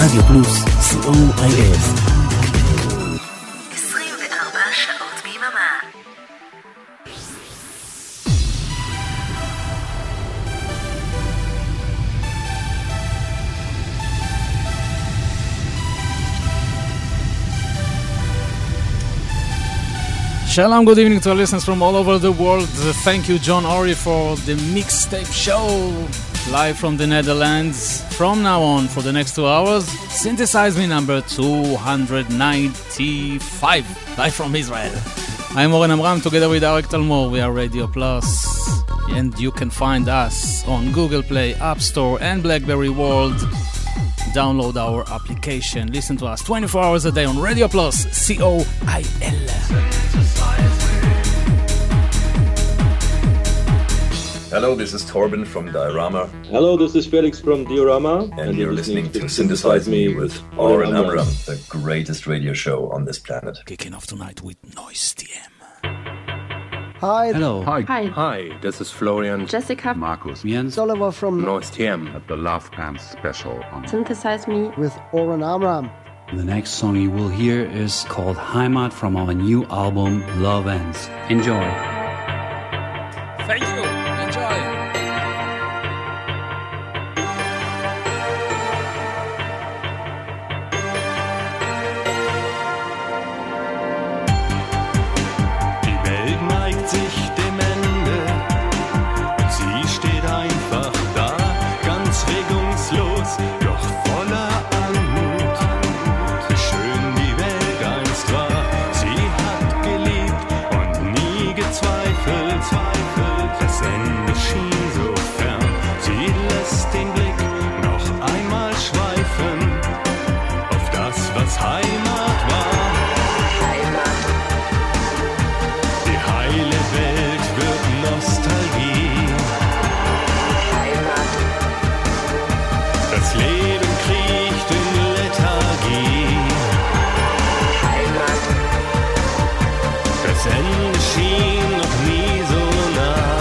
רדיו פלוס, COIF. 24 שעות ביממה. Shalom, good evening to our listeners from all over the world. Thank you, John Ori, for the mixtape show live from the Netherlands. From now on, for the next 2 hours, Synthesize Me number 295, live from Israel. I'm Oren Amram, together with Arik Talmor. We are Radio Plus, and you can find us on Google Play, App Store, and BlackBerry World. Download our application. Listen to us 24 hours a day on Radio Plus, COIL. Hello, this is Torben from Diorama. Hello, this is Felix from Diorama. And you're listening to Synthesize Me with Oren Amram, the greatest radio show on this planet. Kicking off tonight with Noise TM. Hi. Hello. Hi. Hi. Hi, this is Florian. Jessica. Markus. Jens. Oliver from Noise TM. At the Love Pants special on Synthesize Me with Oren Amram. The next song you will hear is called Heimat from our new album Love Ends. Enjoy. Thank you. Enjoy. Die Welt neigt sich dem Ende und sie steht einfach da, ganz regungslos, doch voller Anmut. Wie schön die Welt einst war, sie hat geliebt und nie gezweifelt. Das Ende schien so fern, sie lässt den Blick noch einmal schweifen auf das, was Heimat war. Die heile Welt wird Nostalgie. Das Leben kriecht in Lethargie. Das Ende schien noch nie so nah.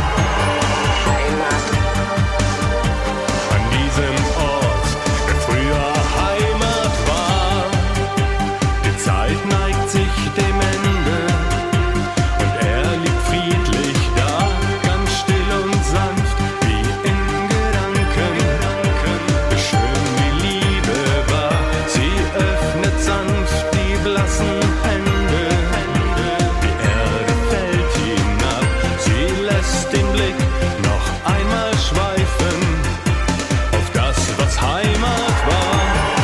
An diesem Ort, der früher Heimat war. Die Zeit neigt sich dem Ende und er liegt friedlich da, ganz still und sanft wie in Gedanken. Wie schön die Liebe war, sie öffnet sanft die blassen Hände. Die Erde fällt hinab, sie lässt den Blick noch einmal schweifen auf das, was Heimat war.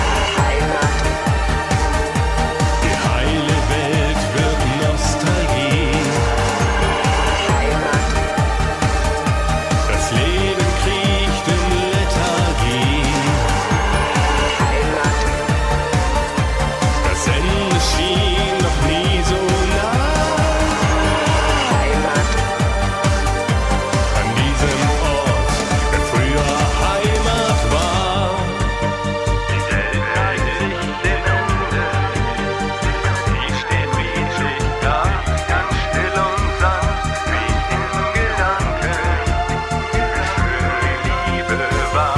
Die heile Welt wird Nostalgie. Das Leben kriecht in Lethargie. Das Ende schien noch nie so nah. An diesem Ort, der früher Heimat war. Die Welt neigt sich dem Ende. Sie steht friedlich da, ganz still und sanft wie in Gedanken. Wie schön die Liebe war.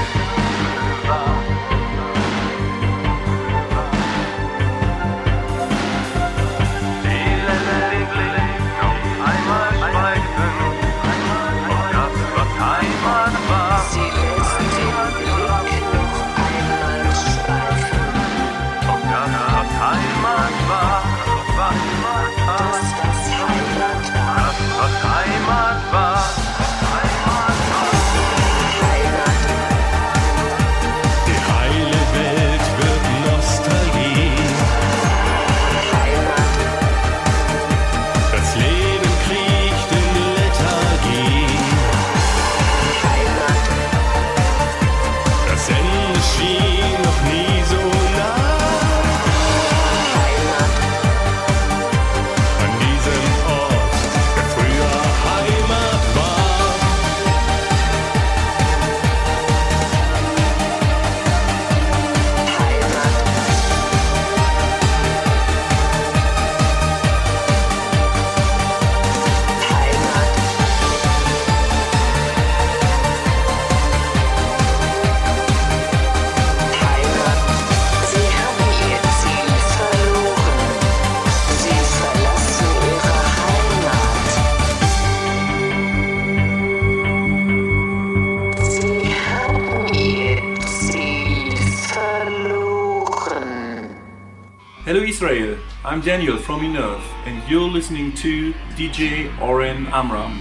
Sie lässt den Blick noch einmal schweifen auf das, was Heimat war. Sie lässt den Blick noch einmal schweifen auf das, was Heimat war. Das, was Heimat war. Das, was Heimat war. Die heile Welt wird Nostalgie. Das Leben kriecht in Lethargie. Das Ende schien noch nie so nah. An diesem Ort, der früher Hello Israel, I'm Daniel from Minerve and you're listening to DJ Oren Amram.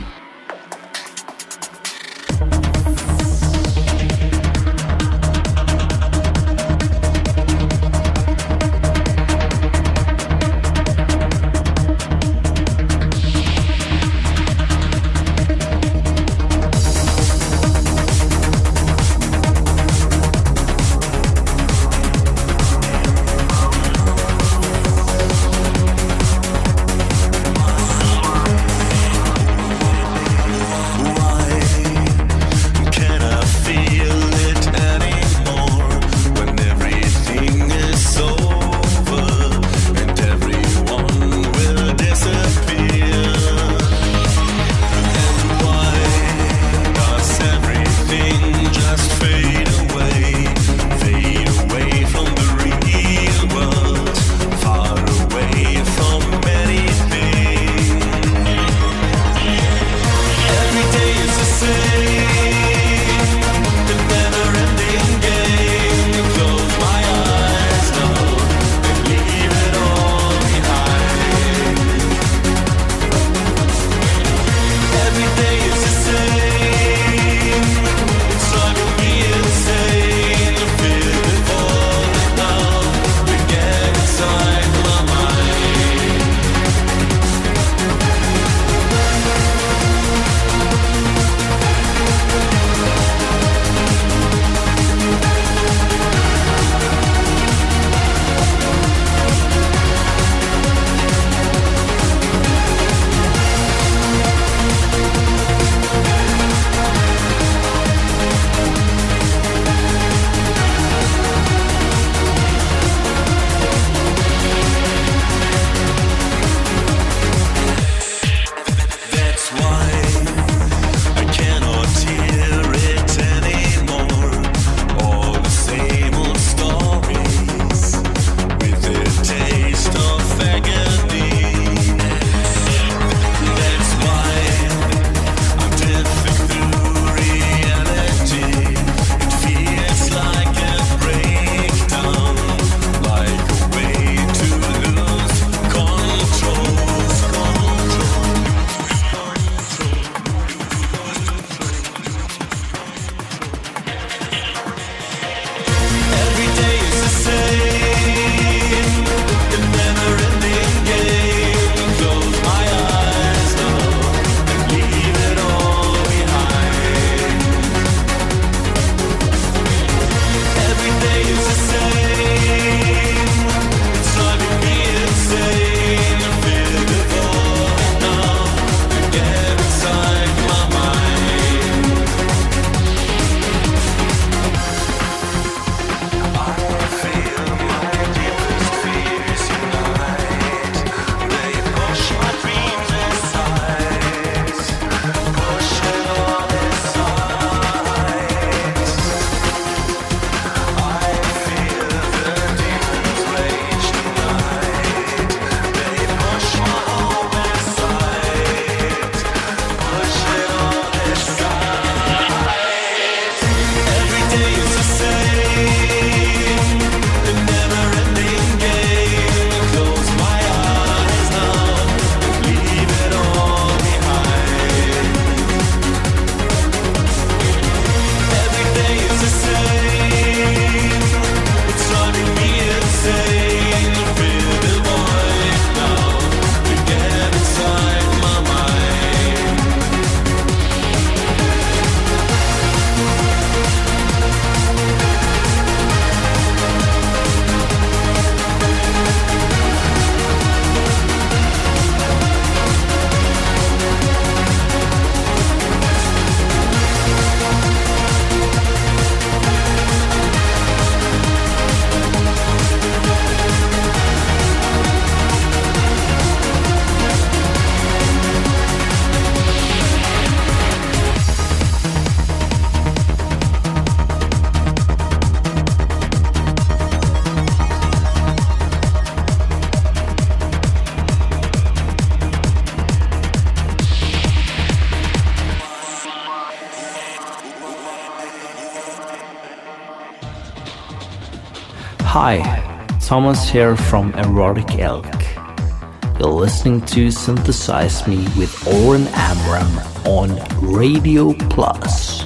Hi, Thomas here from Erotic Elk. You're listening to Synthesize Me with Oren Amram on Radio Plus.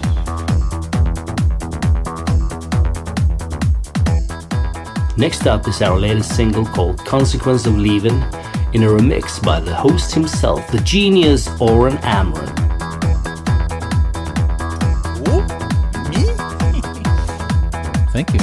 Next up is our latest single called Consequence of Leaving, in a remix by the host himself, the genius Oren Amram. Me? Thank you.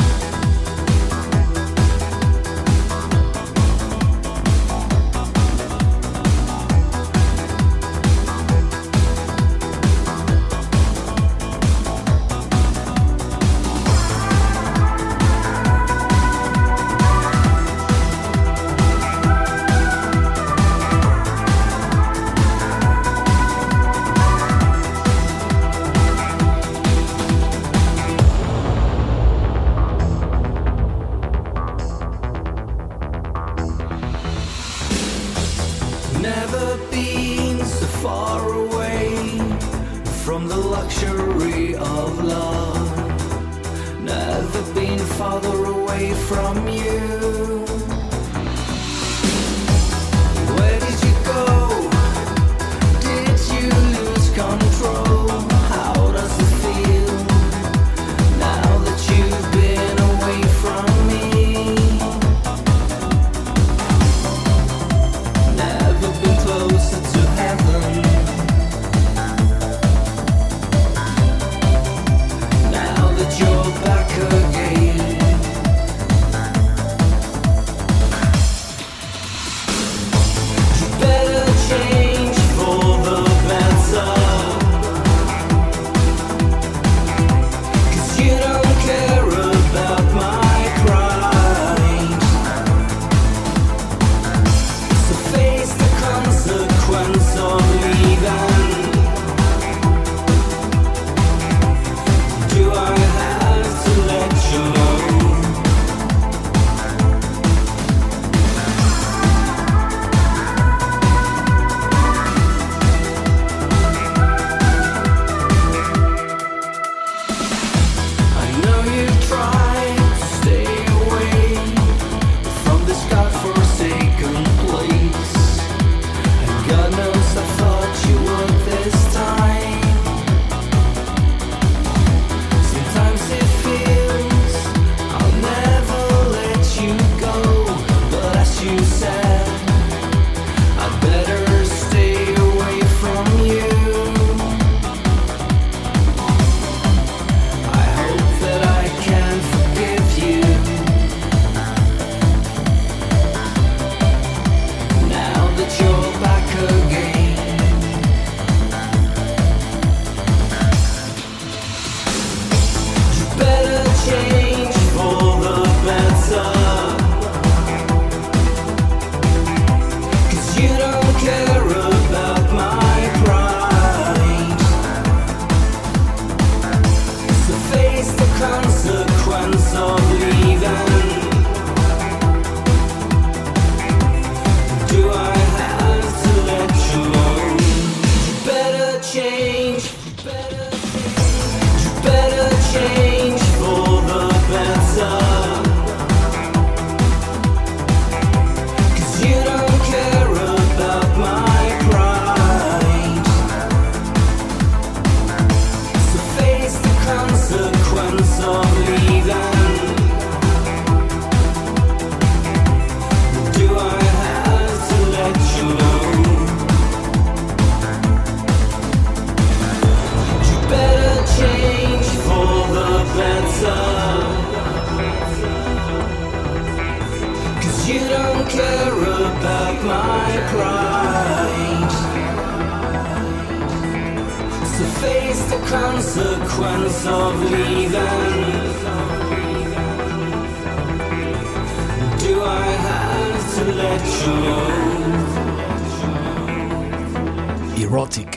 Erotic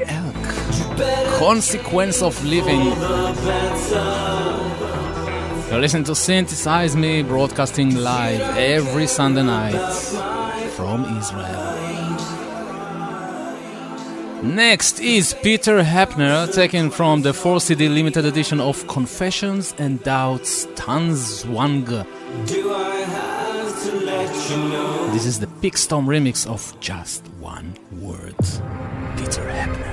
Elk. Consequence of Living. You're listening to Synthesize Me, broadcasting live every Sunday night from Israel. Next is Peter Hepner, taken from the 4-CD limited edition of Confessions and Doubts Tanzwang. Do I have This is the Pigstorm remix of Just One Word. Peter Hebner.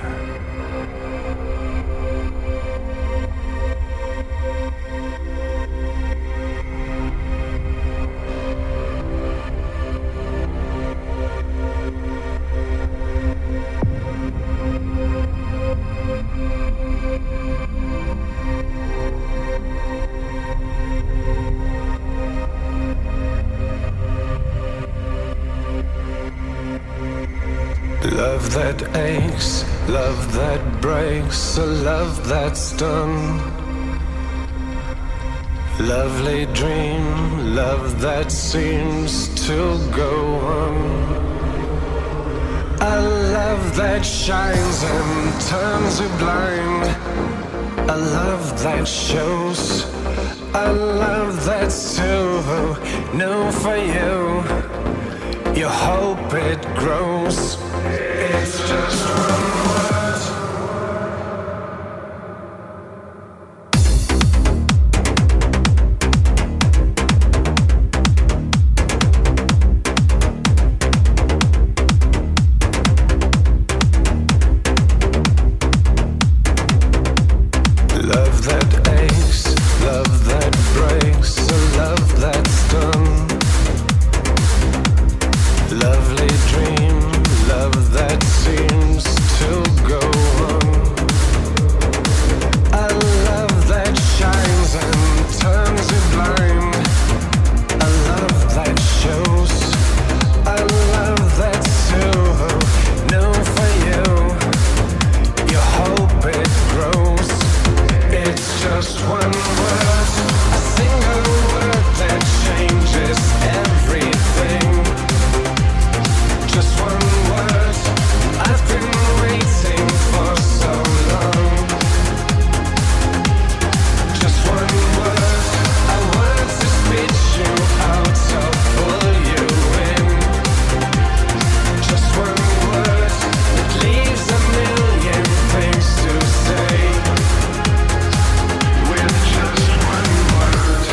Love that aches, love that breaks, a love that's done. Lovely dream, love that seems to go on. A love that shines and turns you blind. A love that shows, a love that's too new for you. You hope it grows. It's just one word. Love that aches, love that breaks, a love that's done. Lovely dream, love that seems to go on. A love that shines and turns you blind. A love that shows, a love that's too new for you. You hope it grows. It's just one word, a single word that changes everything. Just one word, I've been waiting for so long. Just one word, a word to spit you out, to pull you in. Just one word, it leaves a million things to say. With just one word.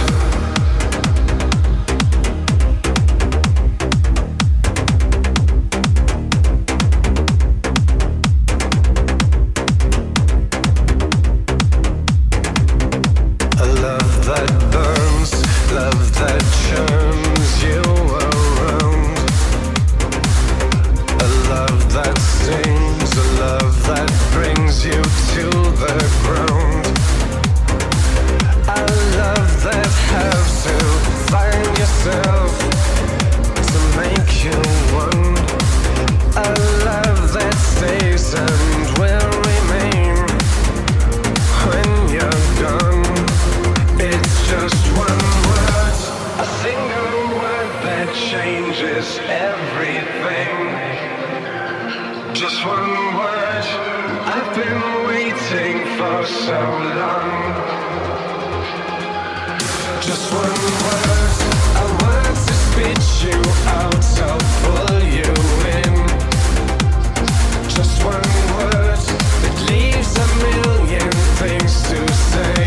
A love that burns, love that churns you around. A love that stings, a love that brings you to the ground. A love that has to find yourself to make you one. A love that stays and will remain when you're gone. It's just one word, a single word that changes everything. Just one word, I've been waiting for so long. Just one word, a word to spit you out, to pull you in. Just one word, that leaves a million things to say.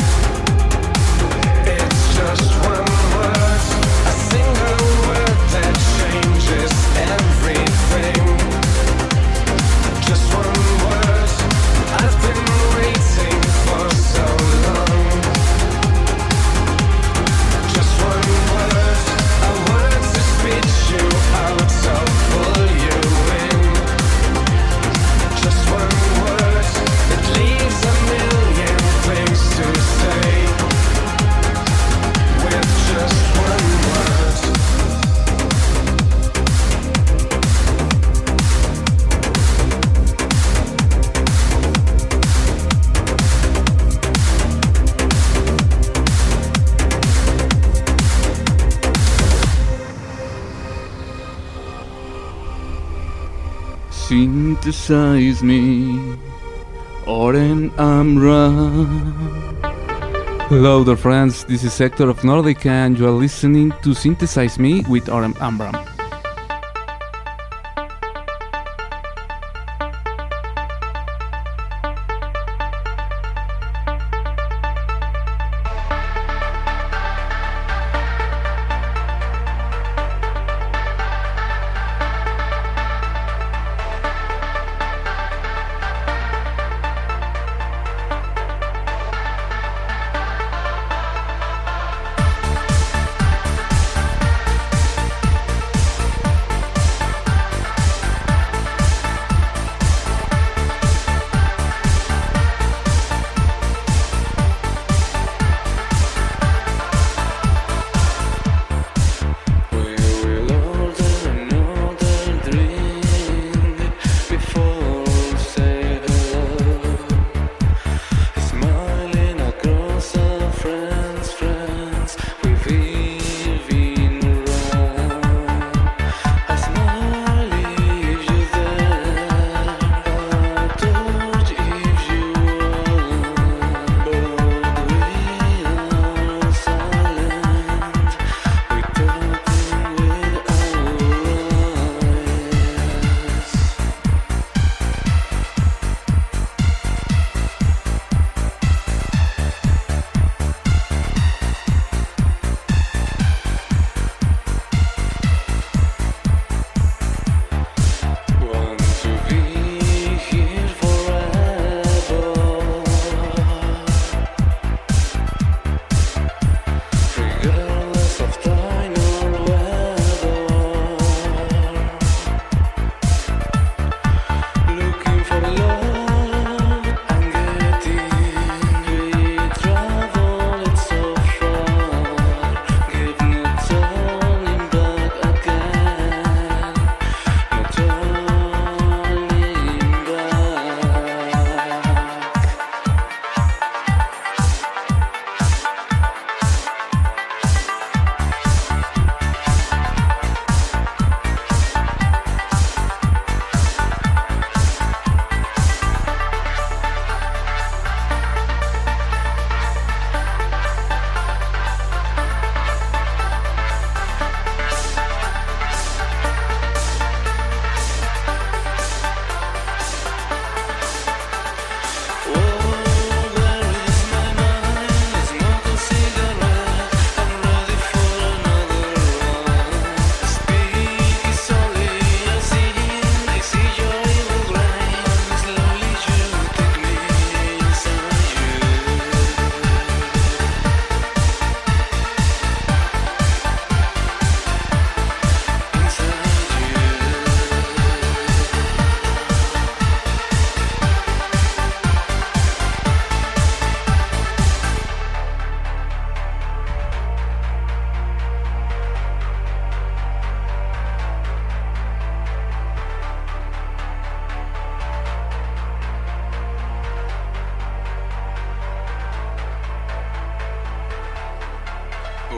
It's just one word, a single word that changes everything. Just one word, I've been waiting for so long. Just one word, a word to spit you out, to pull you in. Just one word, it leaves a million things to say. With just one word. Synthesize me, Oren Amram. Hello there friends, this is Hector of Nordica and you are listening to Synthesize Me with Oren Amram.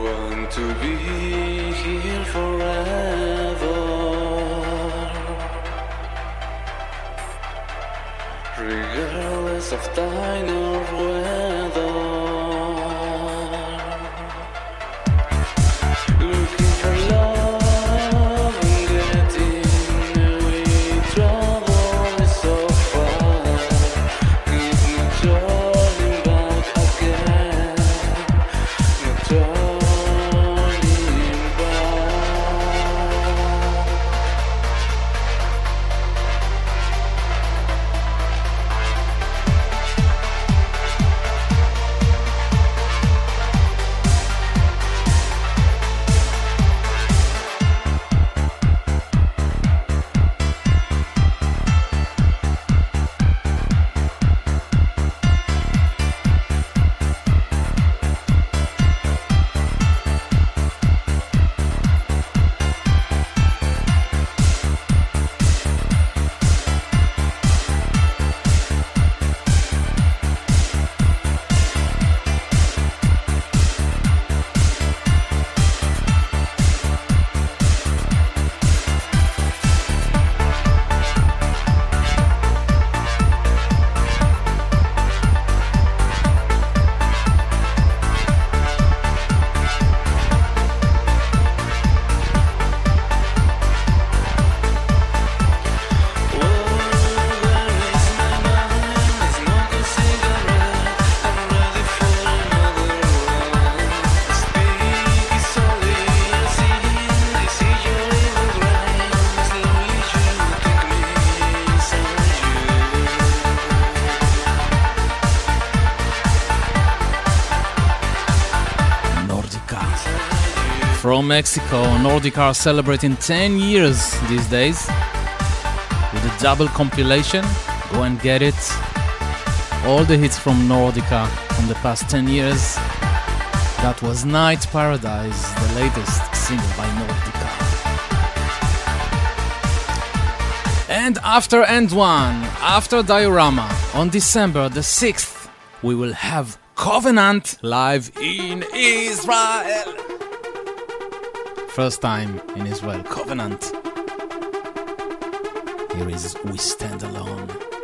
want to be here forever, regardless of time or weather. Looking for love and getting away, travel is so far. There's no turning back again, no turning back. From Mexico, Nordica are celebrating 10 years these days with a double compilation. Go and get it. All the hits from Nordica from the past 10 years. That was Night Paradise, the latest single by Nordica. And after End One, after Diorama, on December the 6th, we will have Covenant live in Israel. First time in Israel, Covenant. Here is We Stand Alone.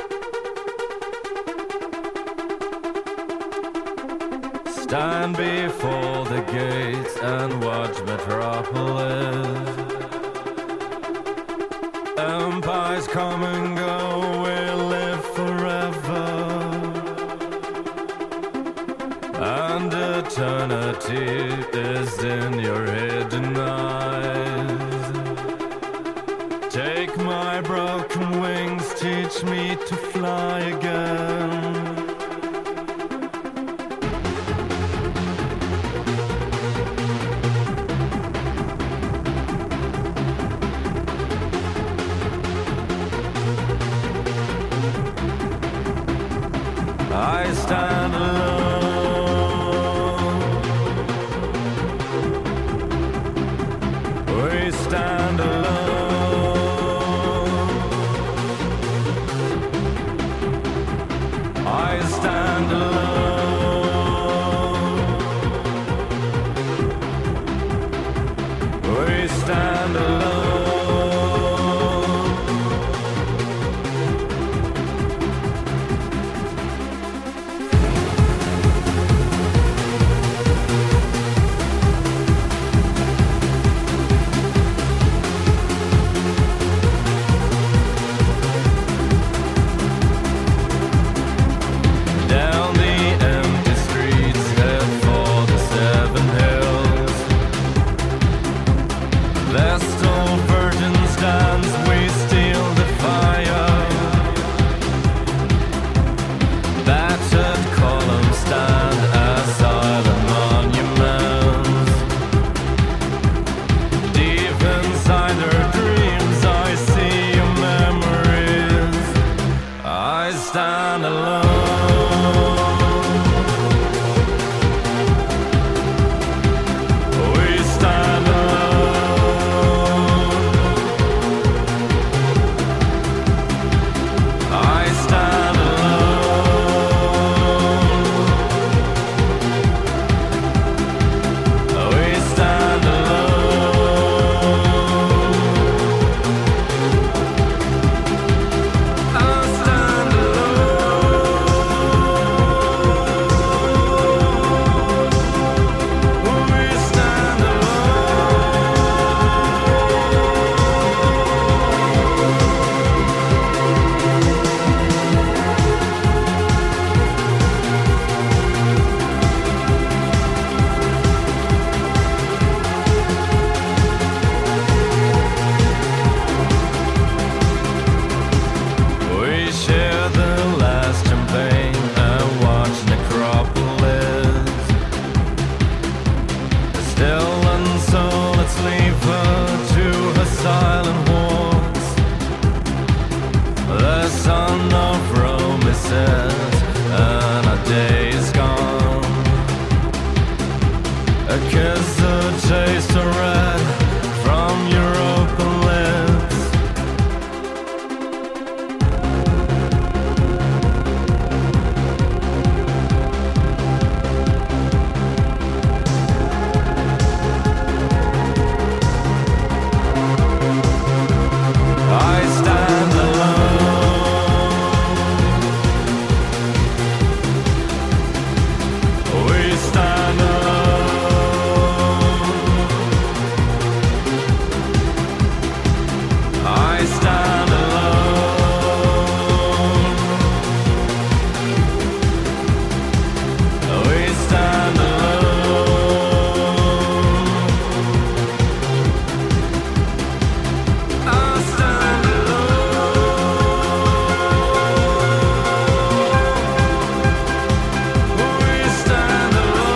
Stand before the gates and watch Metropolis. Empires come and go, we live forever, and eternity is in your hidden eyes. Take my broken wings, teach me to fly again. I stand alone. We stand alone. I stand alone. We stand alone. We kisses and a day's gone. A kiss, a taste of red from your open lips. I stand alone. We stand alone. I stand alone. We stand alone. I stand alone. We stand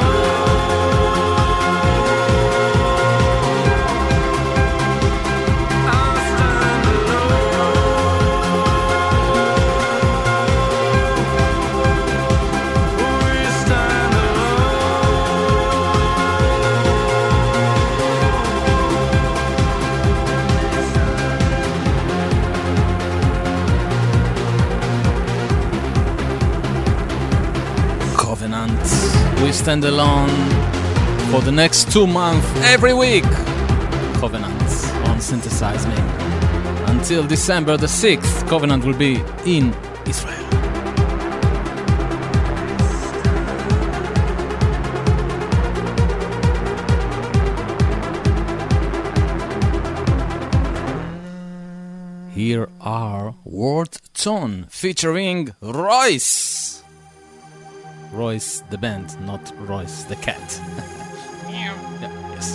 Covenant, We Stand Alone for the next 2 months, every week. Covenant on Synthesize Me. Until December the 6th, Covenant will be in Israel. Here are Ward Tone featuring Royce. Royce the band, not Royce the cat. Yeah, yes.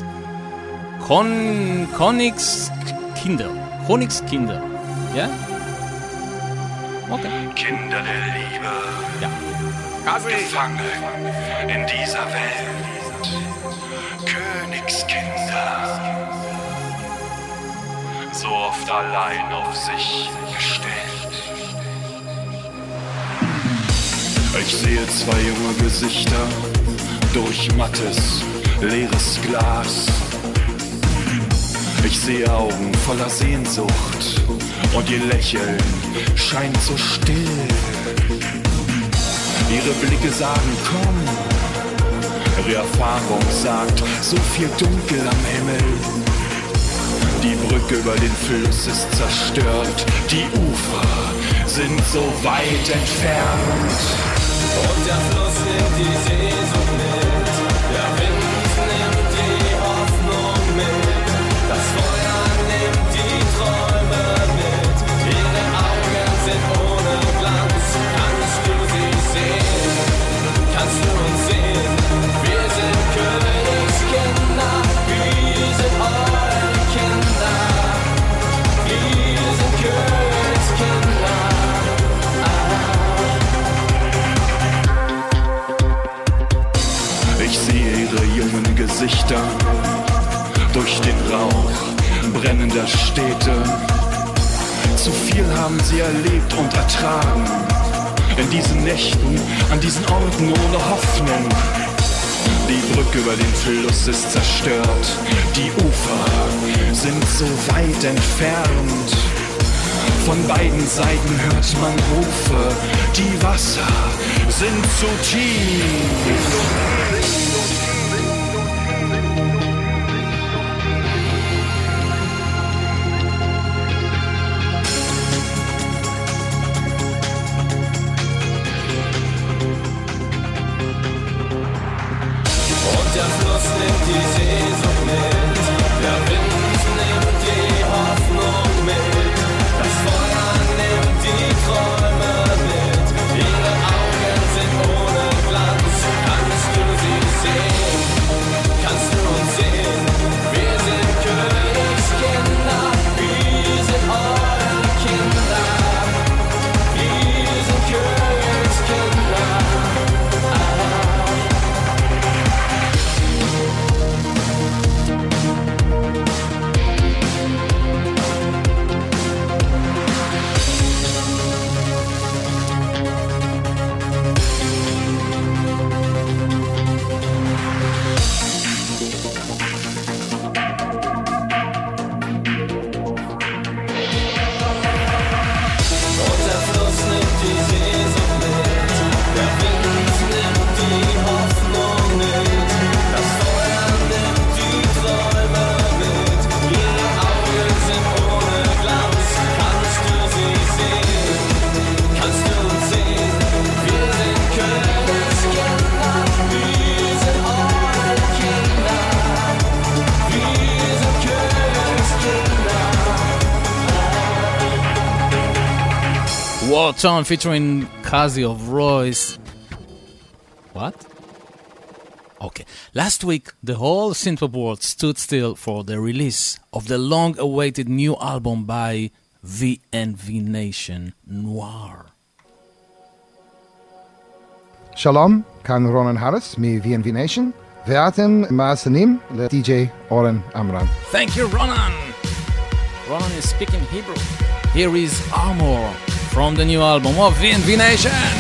Königskinder. Königskinder. Ja? Okay. Kinder der Liebe. Ja. Gefangen in dieser Welt. Königskinder. So oft allein auf sich gestellt. Ich sehe 2 junge Gesichter durch mattes, leeres Glas. Ich sehe Augen voller Sehnsucht und ihr Lächeln scheint so still. Ihre Blicke sagen, komm. Ihre Erfahrung sagt, so viel Dunkel am Himmel. Die Brücke über den Fluss ist zerstört, die Ufer sind so weit entfernt. Und der Fluss nimmt die Sehnsucht mit, der Wind nimmt die Hoffnung mit, das Feuer nimmt die Träume mit, ihre Augen sind ohne Glanz. Kannst du sie sehen? Kannst du uns sehen? Wir sind Königskinder, wir sind eure Kinder, wir sind Königskinder. Ich sehe ihre jungen Gesichter durch den Rauch brennender Städte. Zu viel haben sie erlebt und ertragen. In diesen Nächten, an diesen Orten ohne Hoffnung. Die Brücke über den Fluss ist zerstört. Die Ufer sind so weit entfernt. Von beiden Seiten hört man Rufe. Die Wasser sind zu tief. Der Fluss nimmt die Sehnsucht mit, der Wind nimmt die Hoffnung mit, das Feuer nimmt die Träume mit, ihre Augen sind ohne Glanz. Kannst du Fortune featuring Kazi of Royce. What? Okay. Last week, the whole synthpop world stood still for the release of the long-awaited new album by VNV Nation, Noir. שלום, כאן רונן האריס מ-VNV Nation, ואתם מאזינים ל-DJ אורן עמרם. Thank you, Ronan. Ronan is speaking Hebrew. Here is Armor from the new album of VNV Nation.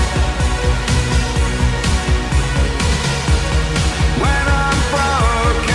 When I'm broken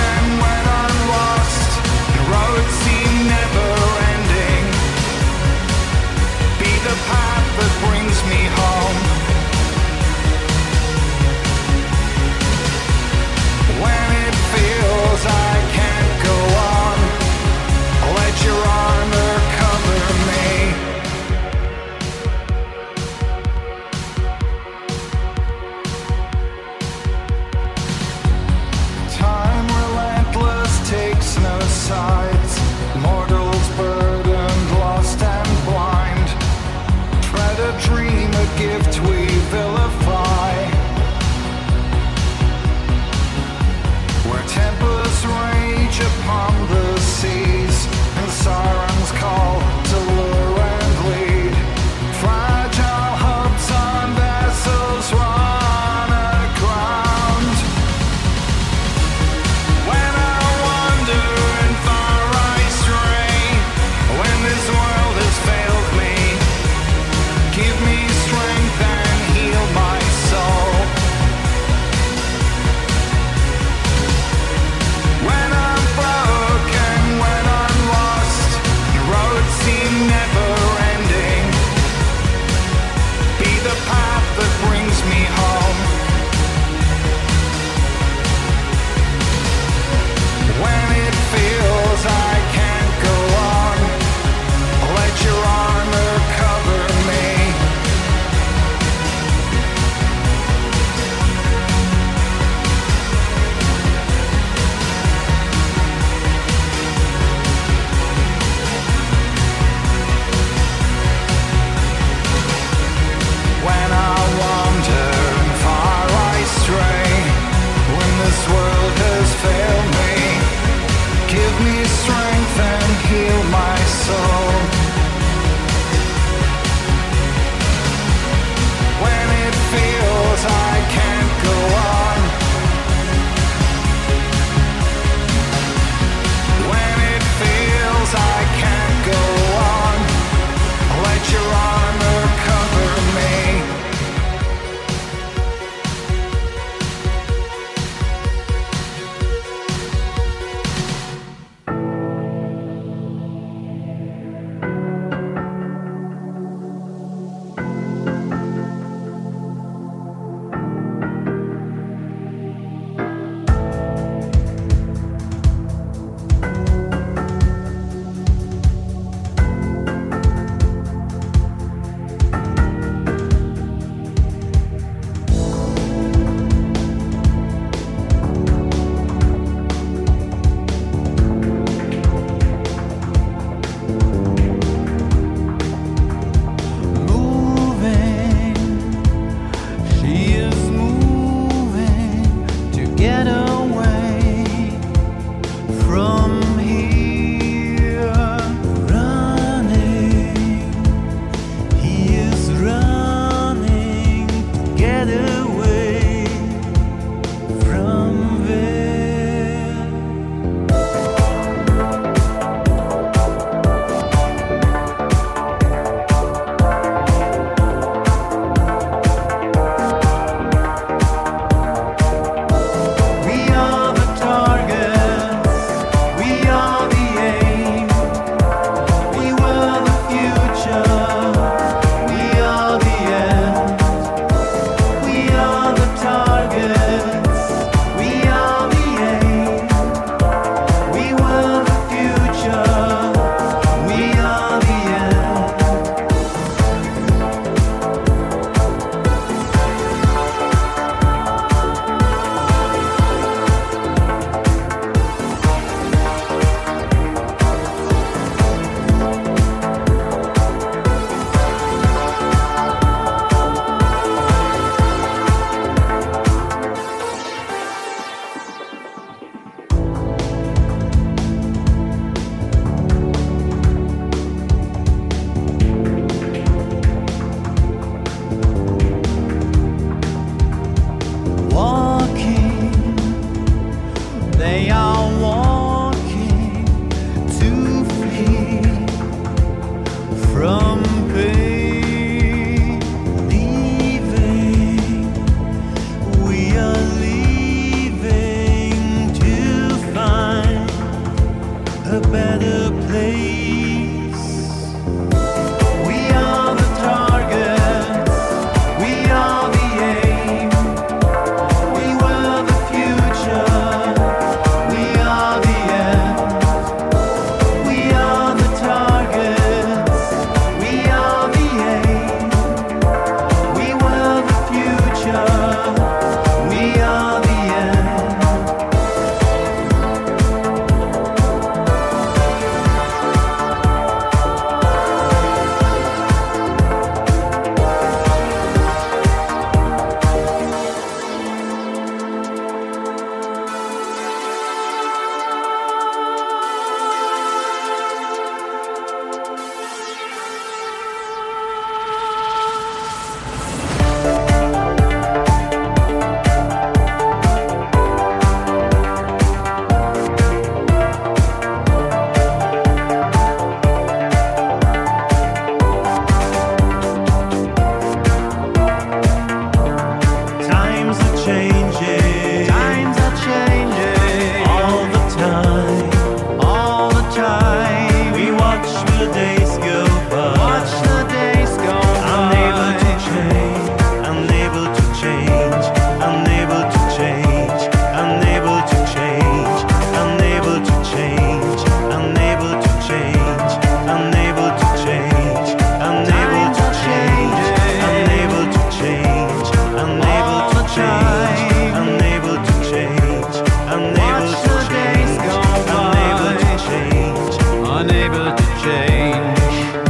changing. Times are changing. All the time. All the time. We watch the days go by. Watch the days go by. Unable to change. Unable to change. Unable to change. Unable to change. Unable to change. Unable to change. Unable to change. Unable to change. Unable to change. Unable to change. Unable to change. Unable to change. Unable to change. Unable to change.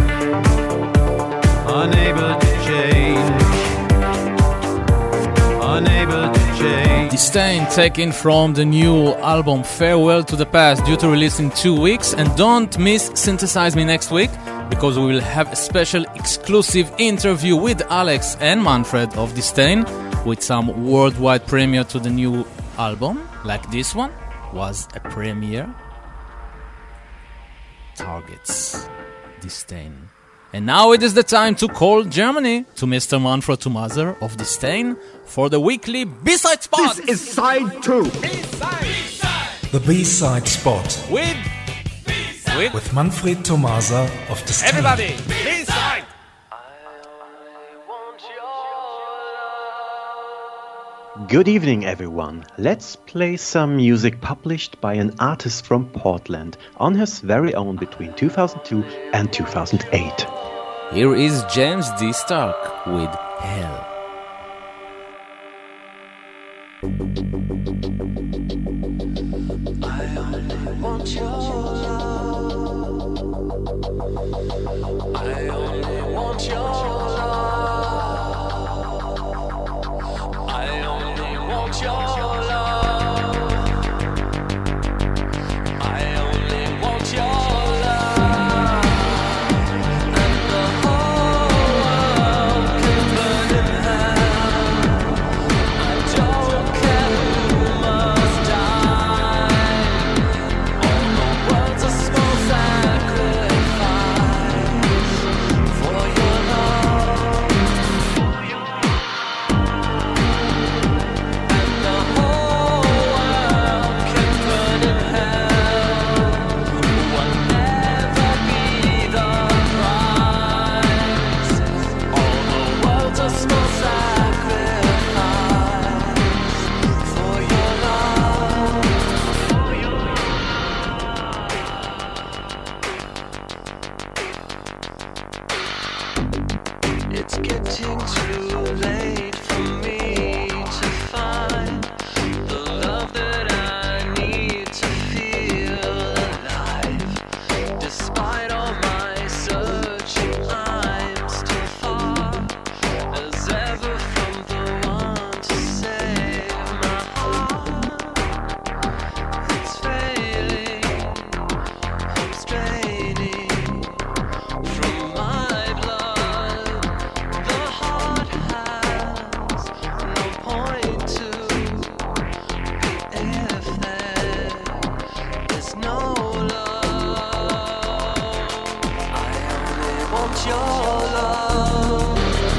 Unable to change. Unable to change. Disdain taken from the new album Farewell to the Past, due to release in 2 weeks. And don't miss Synthesize Me next week, because we will have a special exclusive interview with Alex and Manfred of Disdain, with some worldwide premiere to the new album, like this one was a premiere. Targets Disdain. And now it is the time to call Germany to Mr. Manfred Thomaser of Disdain for the weekly B-side spot. This is side 2. The B-side spot. With Manfred Thomaser of Disdain. Everybody, B-side. Good evening, everyone. Let's play some music published by an artist from Portland on his very own between 2002 and 2008. Here is James D. Stark with Hell. I only want your love. I only want your love. I only want your love. I only want your love. And the whole world can burn in hell. I don't care who must die. All the world's a small sacrifice for your love. And the whole world can burn in hell. Will never be the price. All the world's a small sacrifice for your love. It's getting too late for me to find the love that I need to feel alive. Despite all my searching, I'm still far as ever from the one to save my heart. It's failing, hope's draining from my blood. The heart has no point to be if there is no love. I only want your love.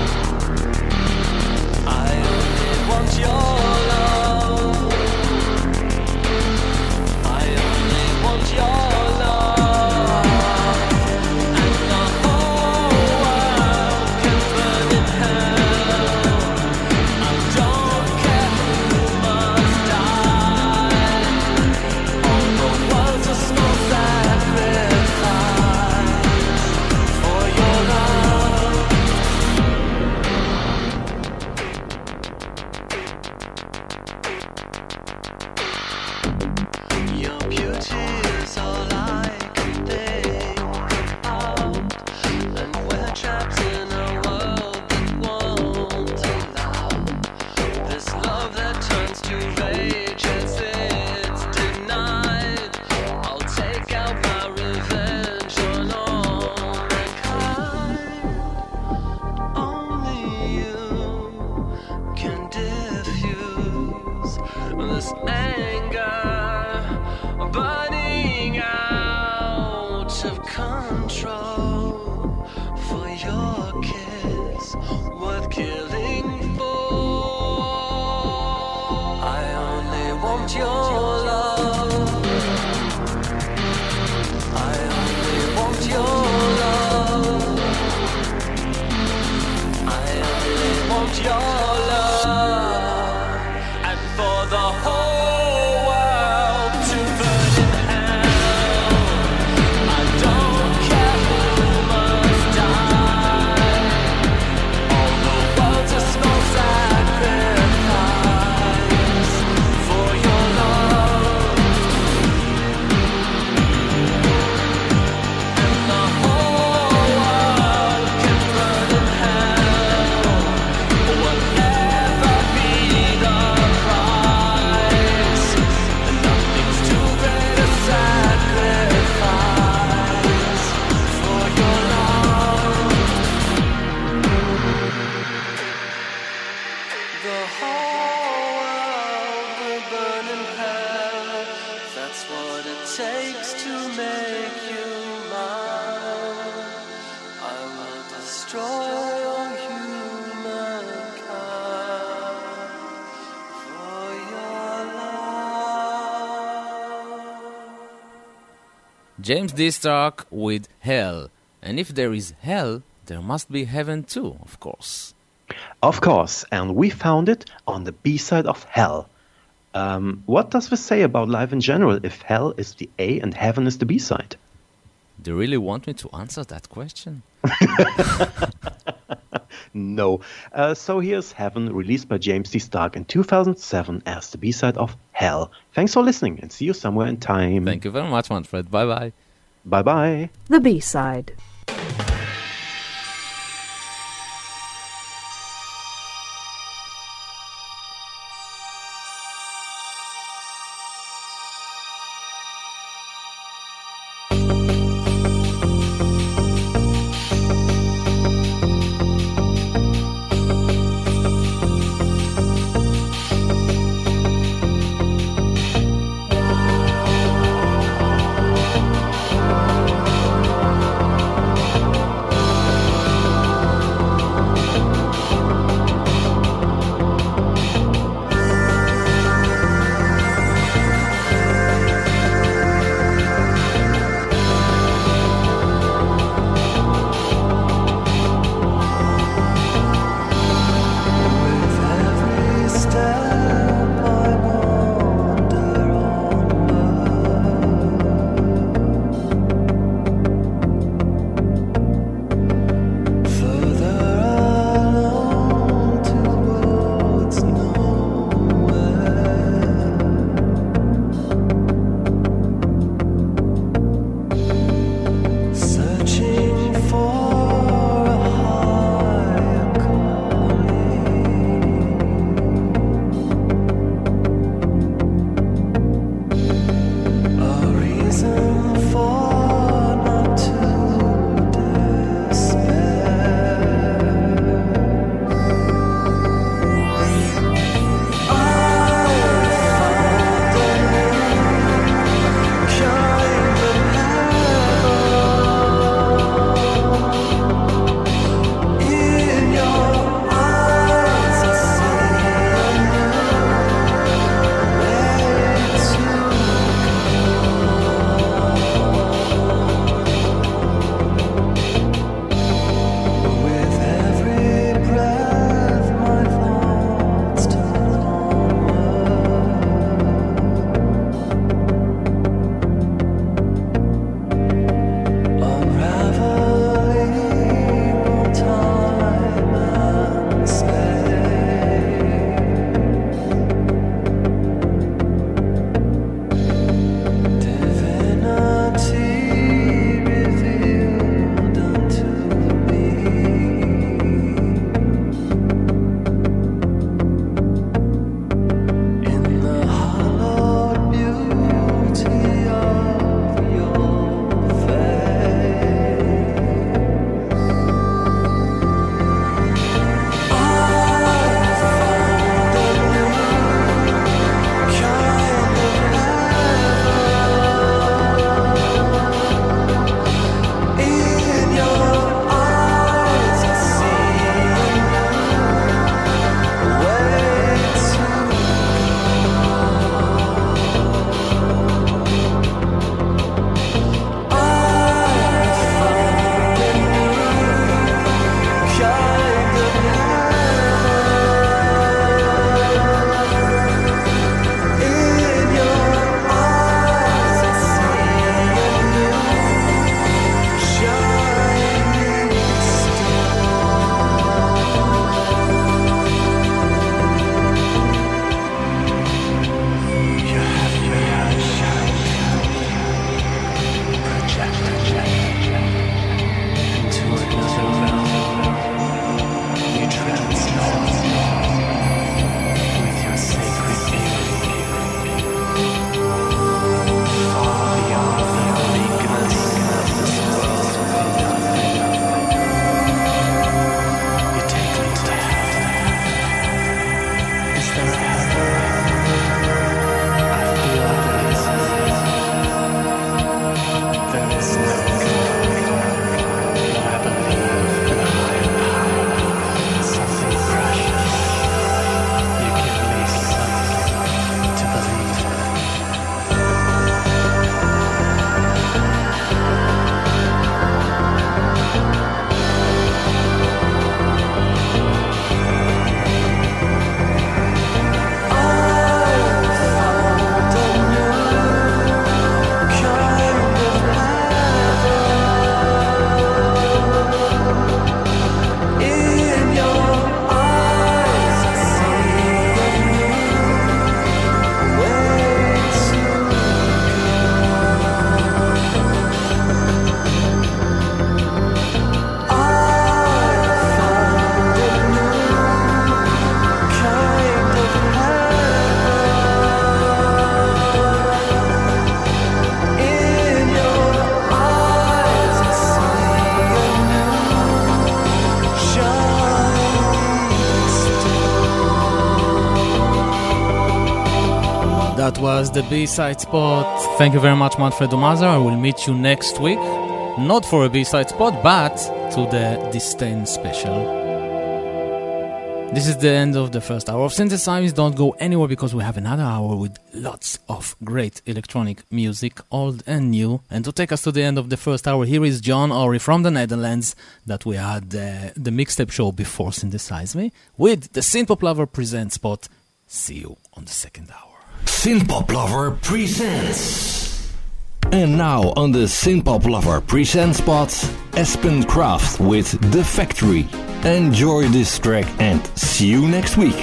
I only want your love. I only want your love. And the whole world can burn in hell. I don't care who must die. All the world's a small sacrifice for your love. Your beauty is all I can think about, and we're trapped in a world that won't allow this love that turns to rage as it's denied. I'll take out my revenge on all mankind. Only you can diffuse this anger burning out of control for your kiss worth killing for. want your love. I only want your love. I only want your love. And for the whole world to burn in hell. I don't care who must die. All the world's a small sacrifice for your love. And the whole world can burn in hell. Whatever be the price, nothing's too great a sacrifice for your love. The whole world will burn in hell. That's what it takes to make you mine. I will destroy all humankind for your love. James D. Stark with Hell. And if there is hell, there must be heaven too, of course. Of course, and we found it on the B-side of Hell. What does this say about life in general if Hell is the A and Heaven is the B-side? Do you really want me to answer that question? No. So here's Heaven, released by James D. Stark in 2007 as the B-side of Hell. Thanks for listening and see you somewhere in time. Thank you very much, Manfred. Bye-bye. Bye-bye. The B-side. That was the B-side spot. Thank you very much, Manfred Omazer. I will meet you next week. Not for a B-side spot, but to the Disdain special. This is the end of the first hour of Synthesize. Don't go anywhere because we have another hour with lots of great electronic music, old and new. And to take us to the end of the first hour, here is John Ori from the Netherlands that we had the mixtape show before Synthesize Me with the Synthpop Lover Presents spot. See you on the second hour. Synthpop Lover Presents. And now on the Synthpop Lover Presents spot, Aspen Kraft with The Factory. Enjoy this track and see you next week.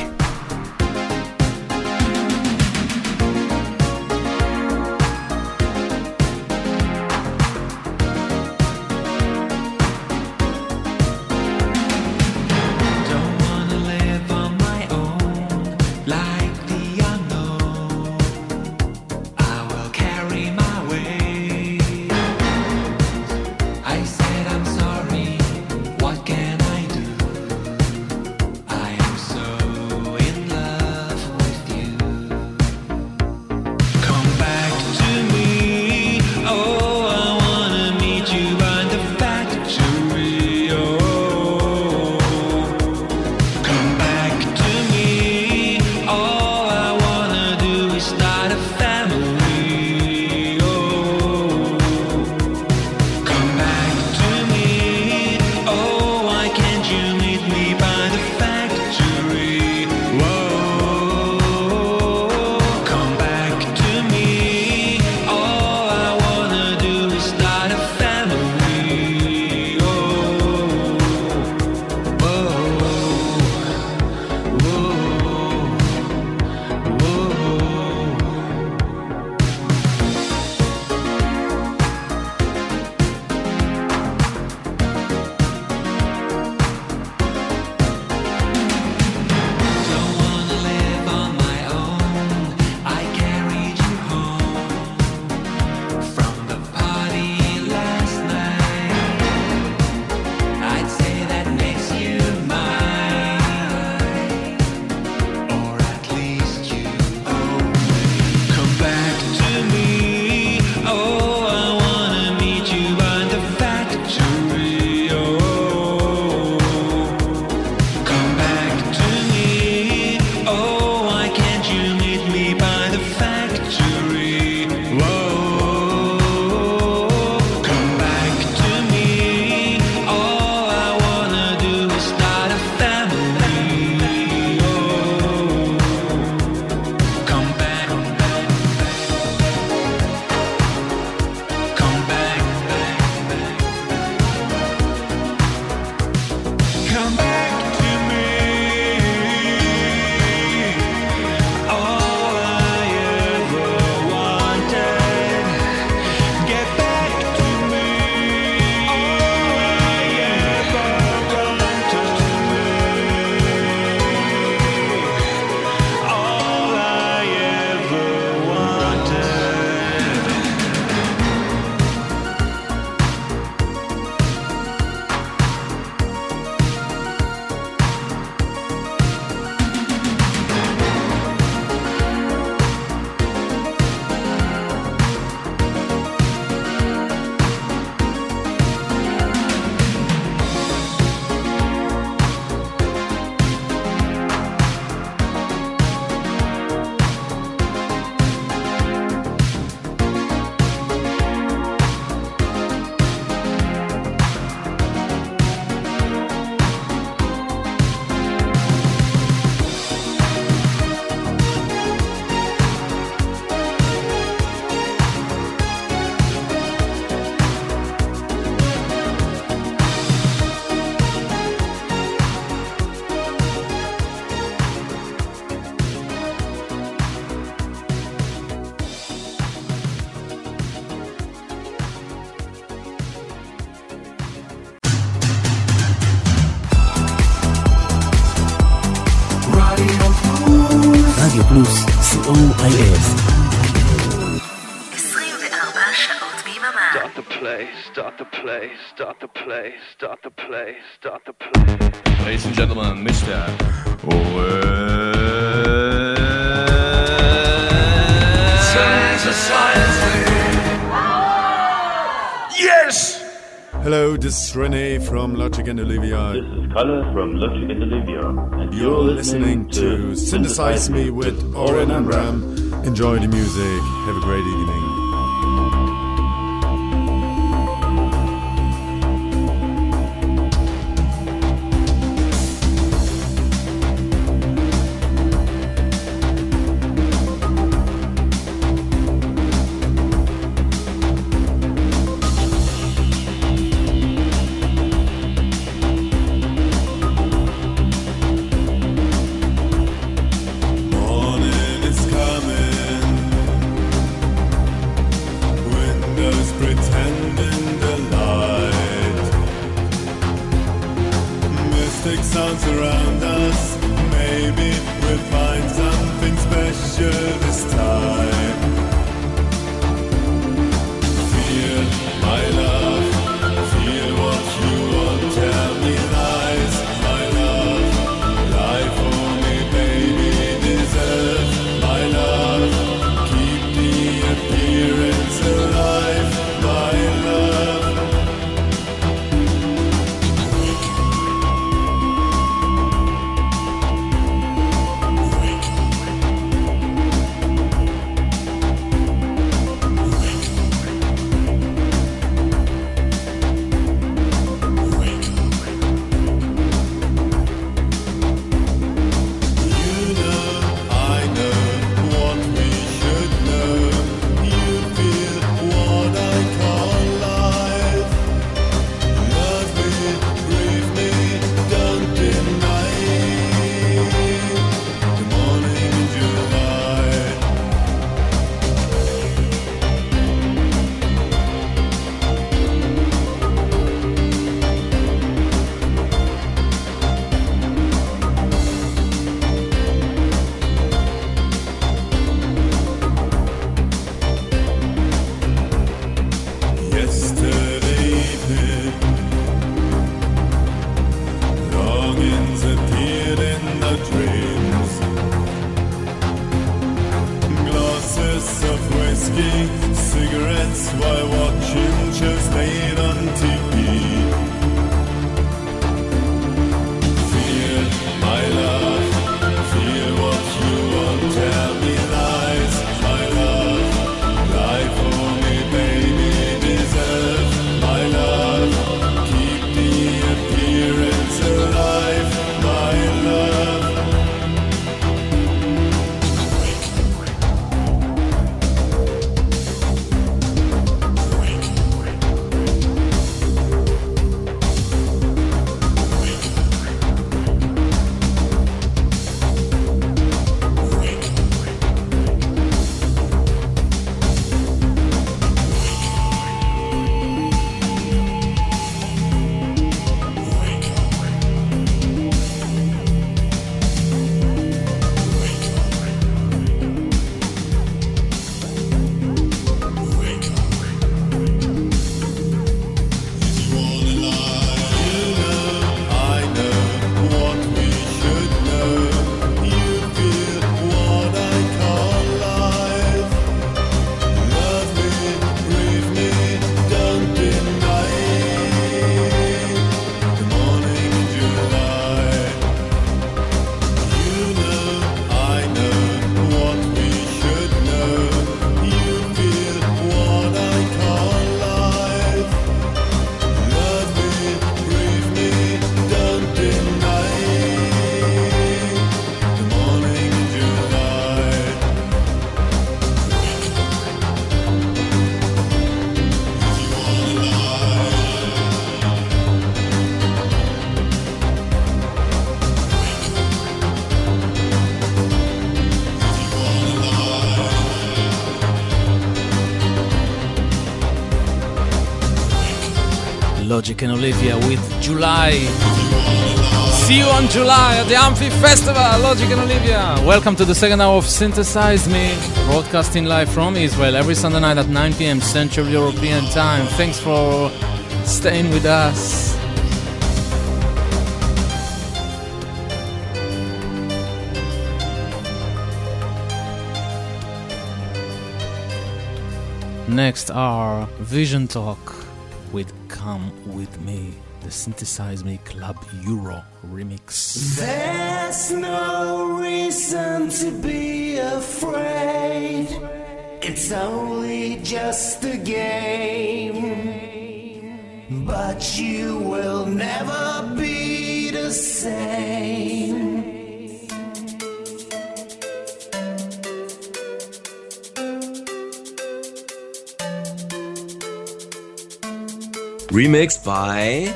רדיו פלוס, COIF. 24 שעות ביממה. Start the play, start the play, start the play, start the play, start the play. Ladies and gentlemen, Mr. Hello, this is Rene from Logic and Olivia. This is Kalle from Logic and Olivia. And you're listening to Synthesize Me with Oren Amram. Enjoy the music. Have a great evening. Logic and Olivia with July. See you on July at the Amphi Festival, Logic and Olivia. Welcome to the second hour of Synthesize Me, broadcasting live from Israel every Sunday night at 9 p.m. Central European Time. Thanks for staying with us. Next are Vision Talk with Come With Me, the Synthesize Me Club Euro remix. There's no reason to be afraid. It's only just a game, but you will never be the same. Remixed by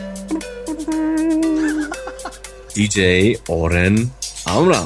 DJ Oren Amram.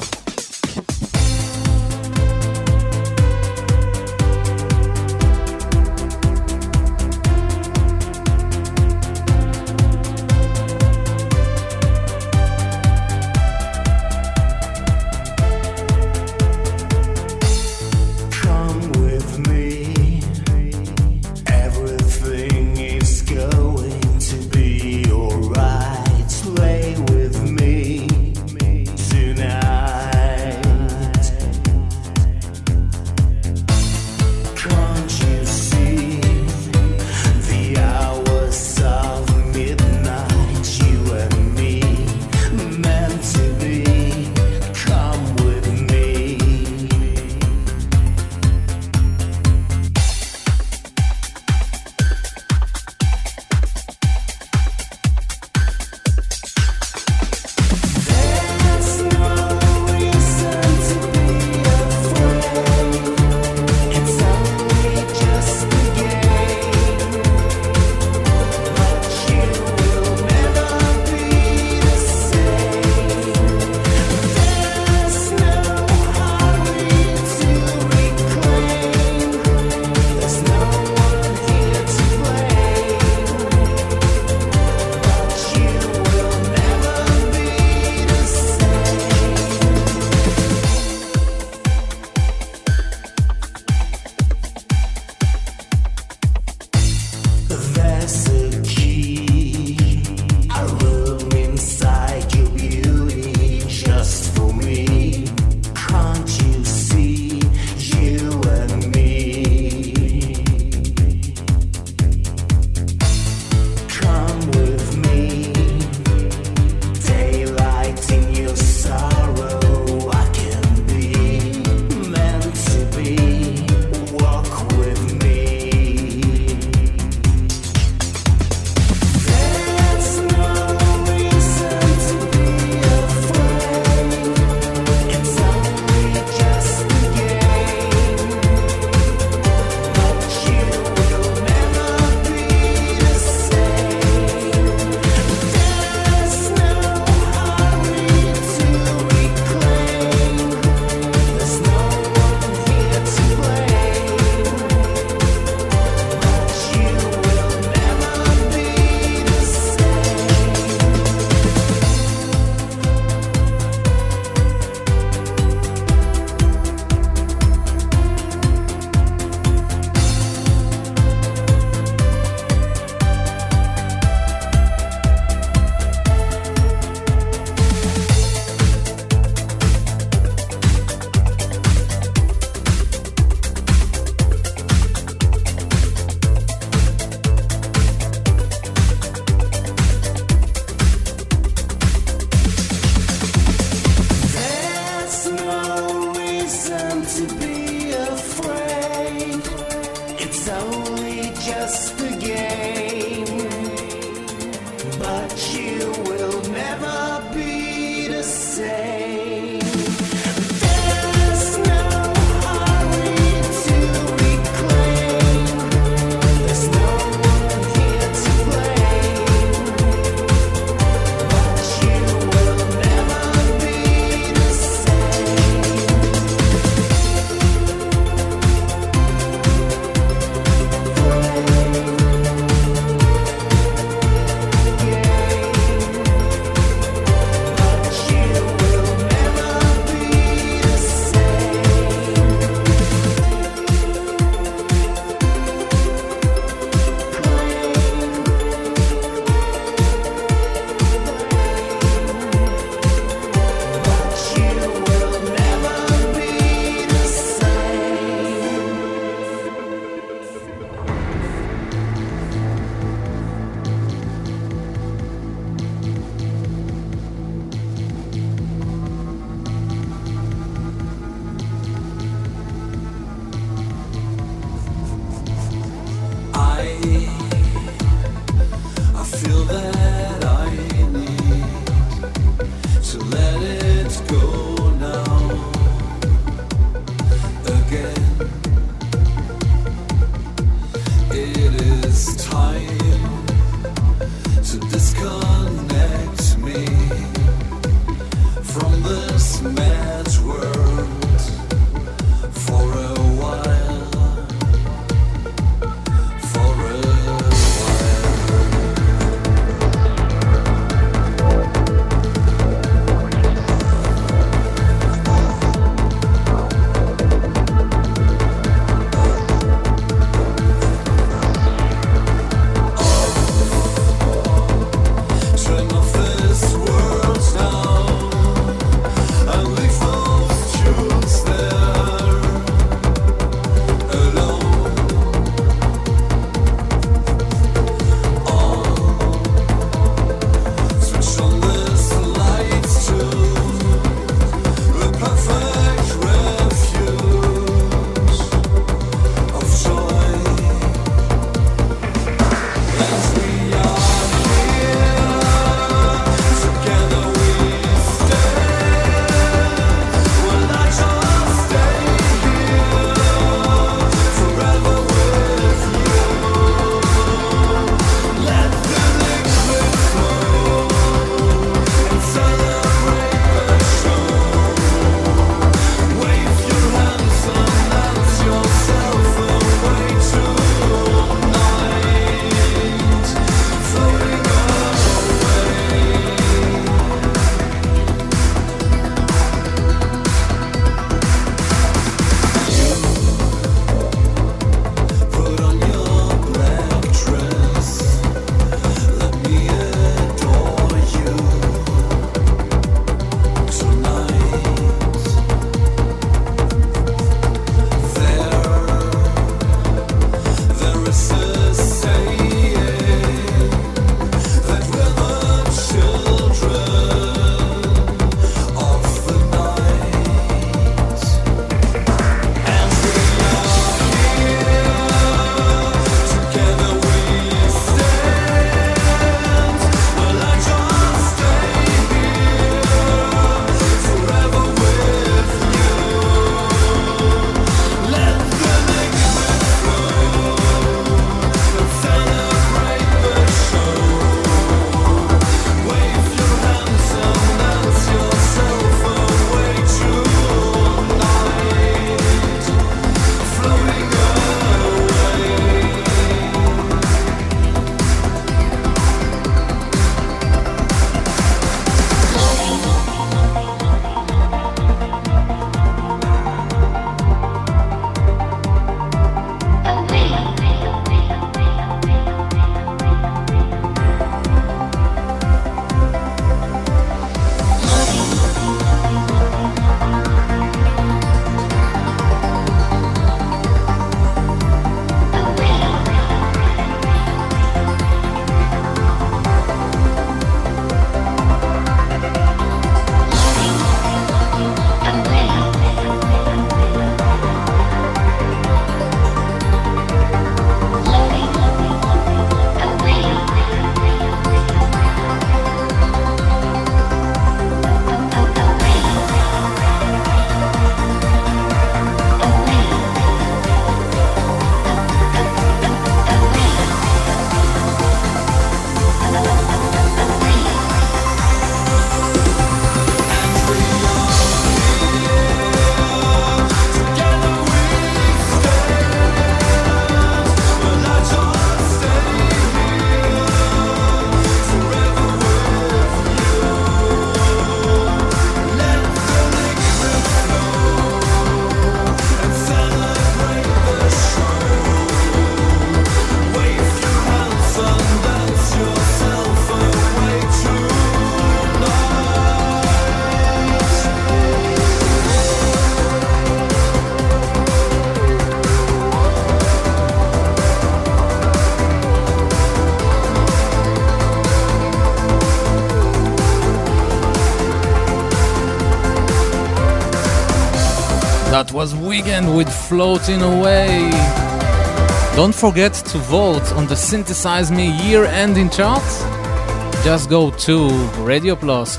Weekend with Floating Away. Don't forget to vote on the Synthesize Me year-ending chart. Just go to Radio Plus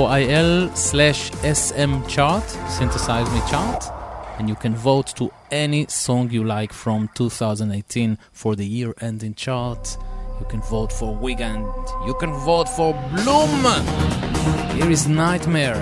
COIL/SM chart, Synthesize Me chart, and you can vote to any song you like from 2018 for the year-ending chart. You can vote for Weekend. You can vote for Bloom. Here is Nightmare.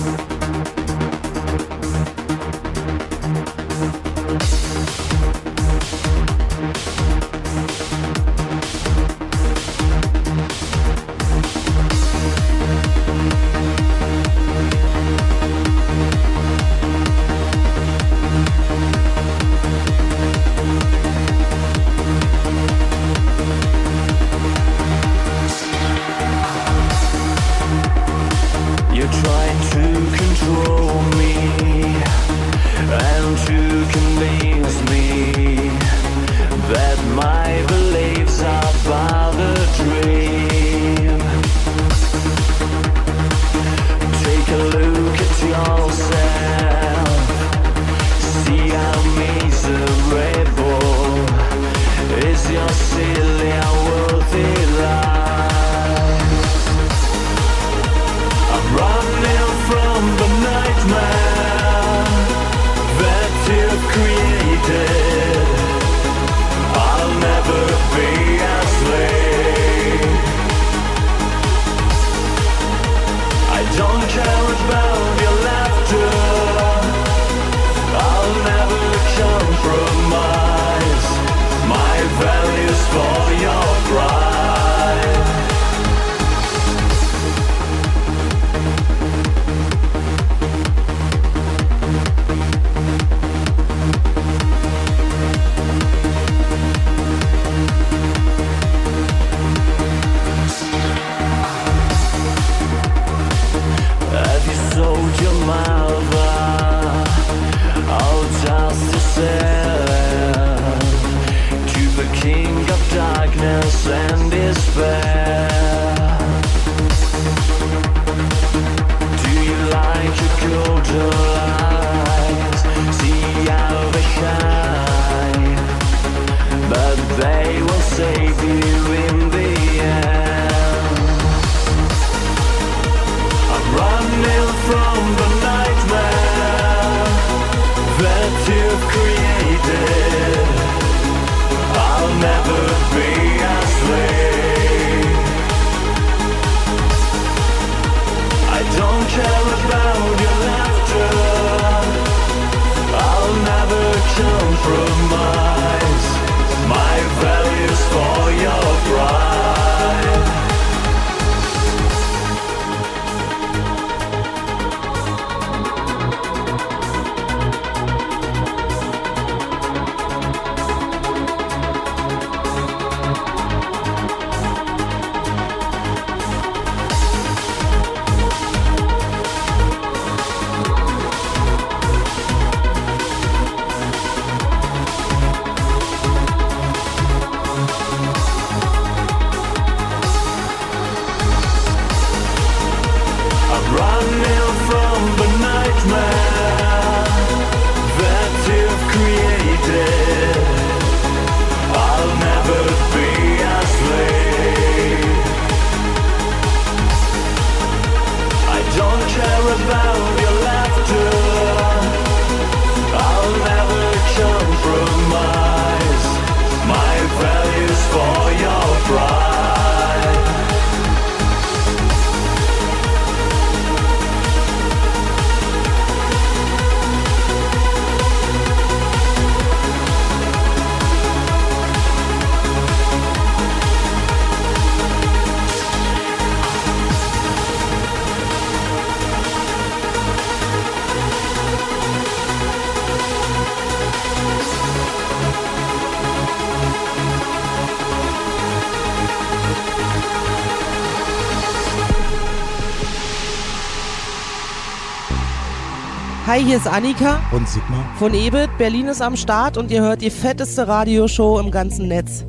Hi, hier ist Annika und Sigmar von EBIT. Berlin ist am Start und ihr hört die fetteste Radioshow im ganzen Netz.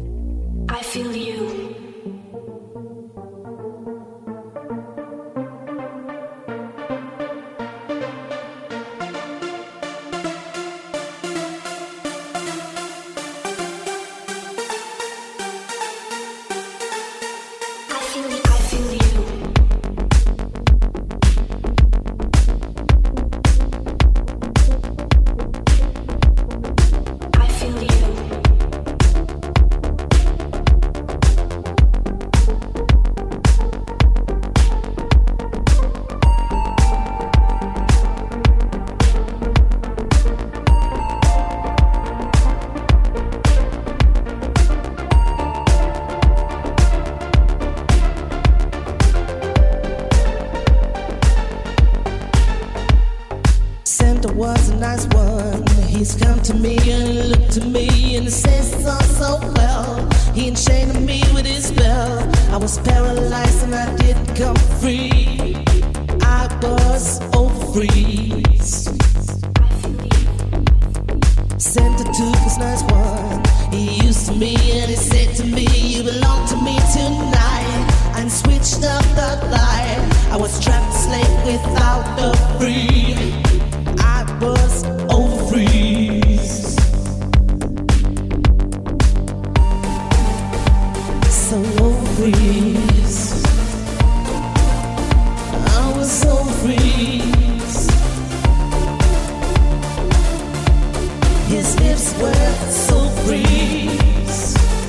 I feel you. to me and he looked at me and he says it's all so well. He enchained me with his spell. I was paralyzed and I didn't come free. I was overfreezed. Sent it to this nice one. He used to me and he said to me, you belong to me tonight. And switched up the light. I was trapped, slave without the free. I was overfreezed. So overfreezed. I was so overfreezed. His lips were so freeze.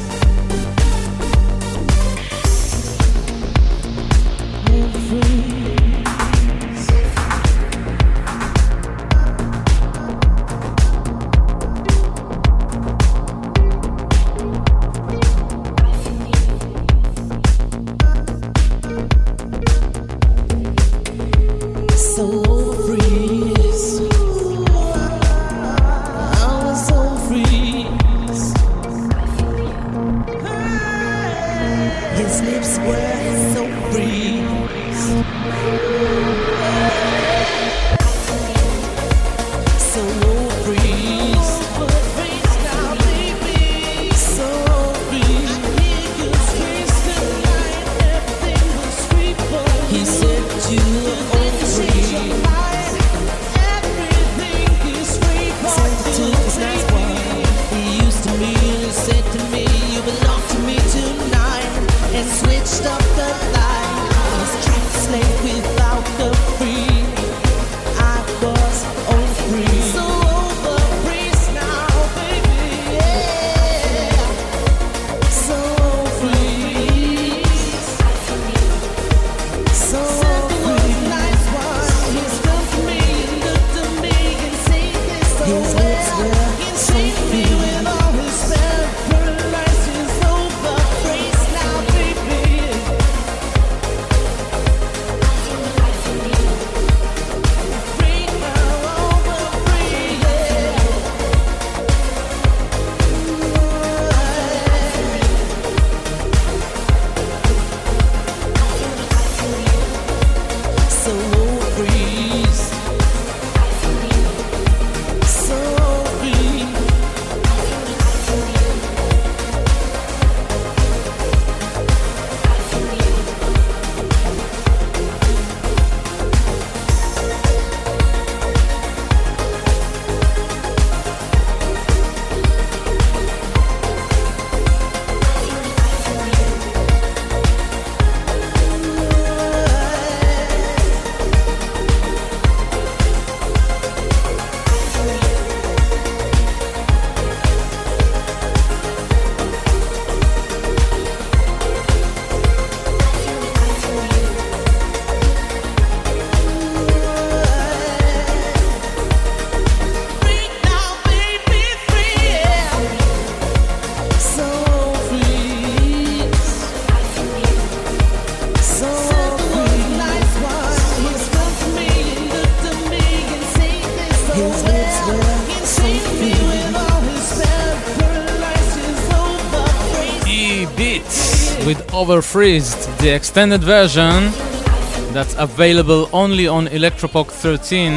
Overfreezed, the extended version that's available only on Electropop 13,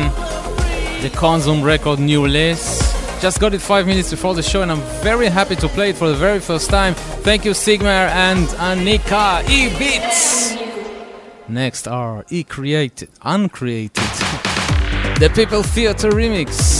the Consum record new release. Just got it 5 minutes before the show and I'm very happy to play it for the very first time. Thank you Sigmar and Annika. E-Beats! Next are Uncreated, the People Theater remix.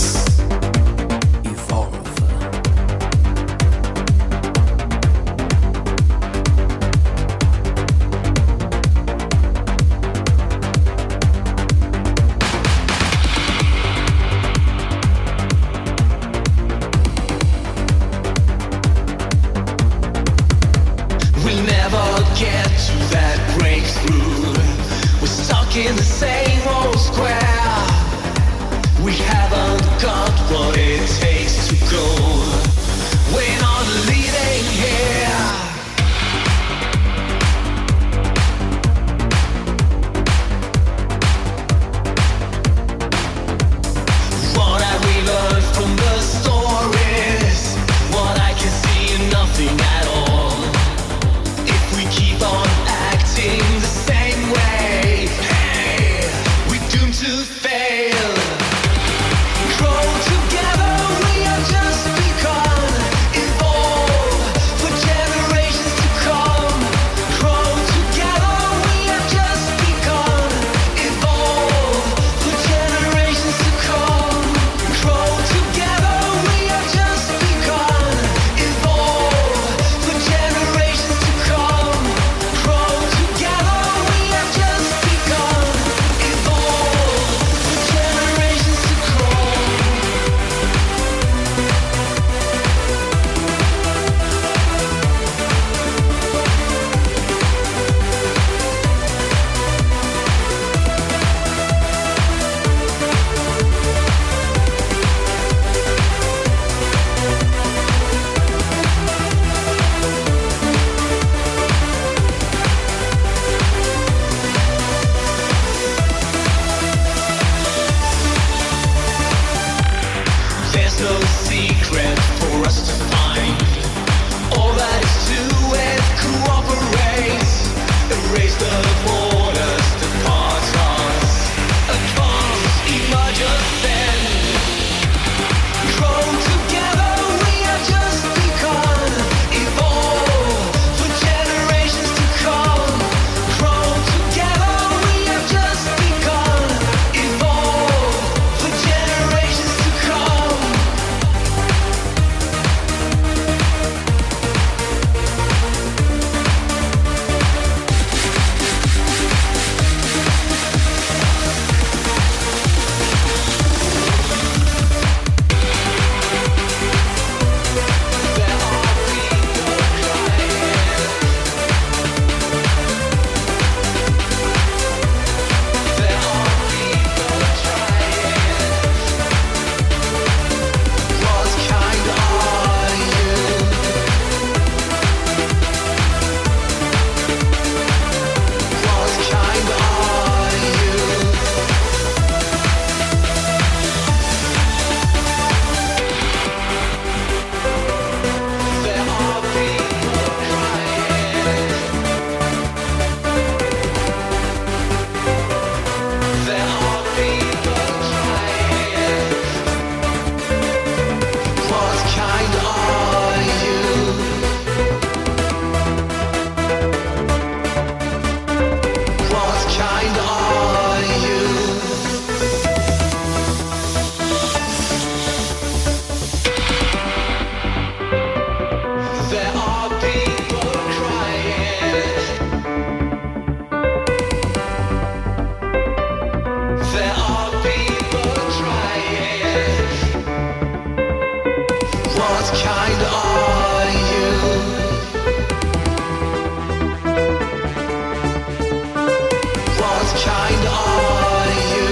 In the same old square, we haven't gone. What kind are you? What kind are you?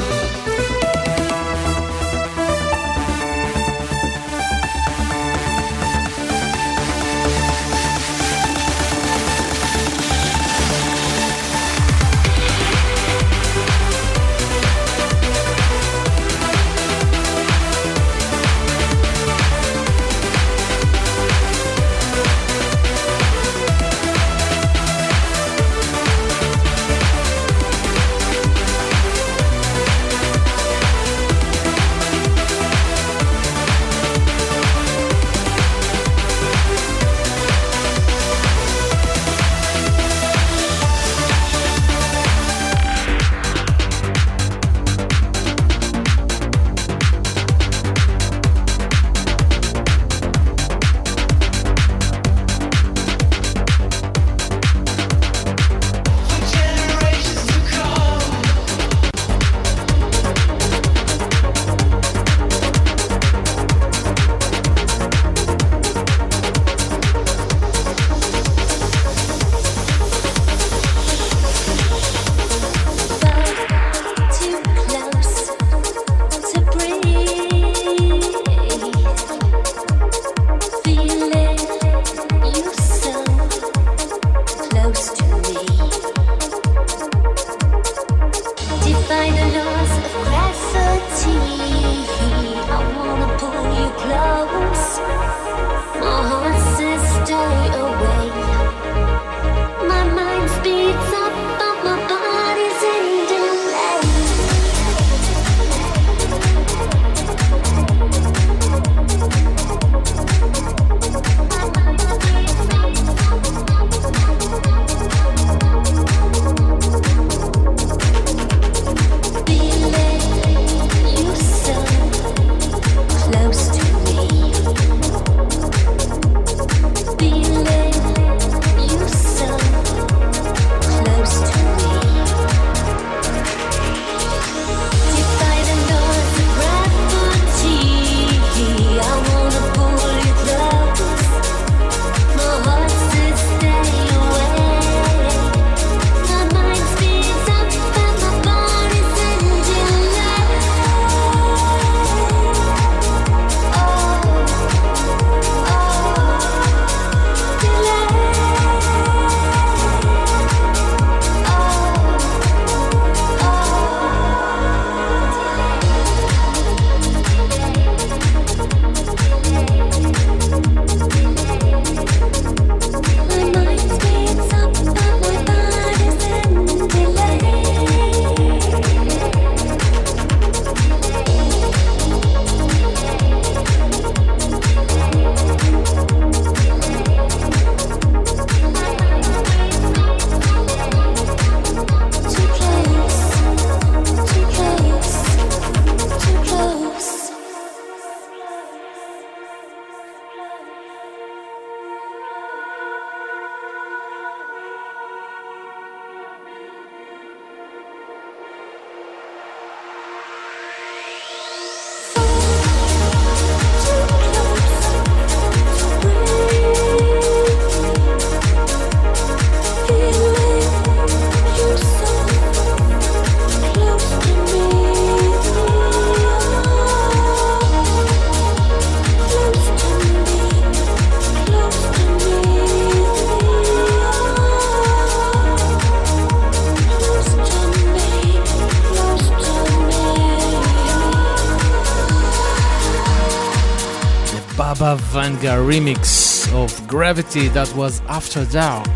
Baba Vanga remix of Gravity, that was After Dark.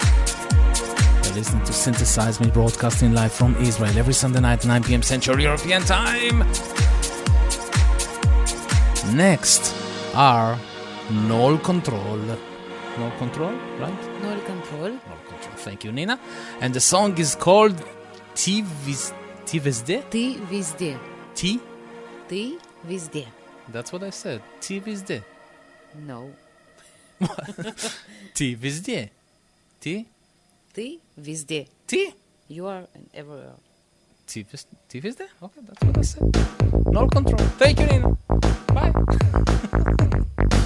You're listening to Synthesize Me, broadcasting live from Israel every Sunday night, 9 p.m. Central European Time. Next are Null Control. Null Control, right? Null Control. Null Control, thank you, Nina. And the song is called Ti Vizde? Ti Vizde. Ti? Ti Vizde. That's what I said. Ti Vizde. No. Ti Vizde. Ti? Ti Vizde. Ti? You are everywhere. Ti Vizde? Okay, that's what I said. Null Control. Thank you, Nina. Bye.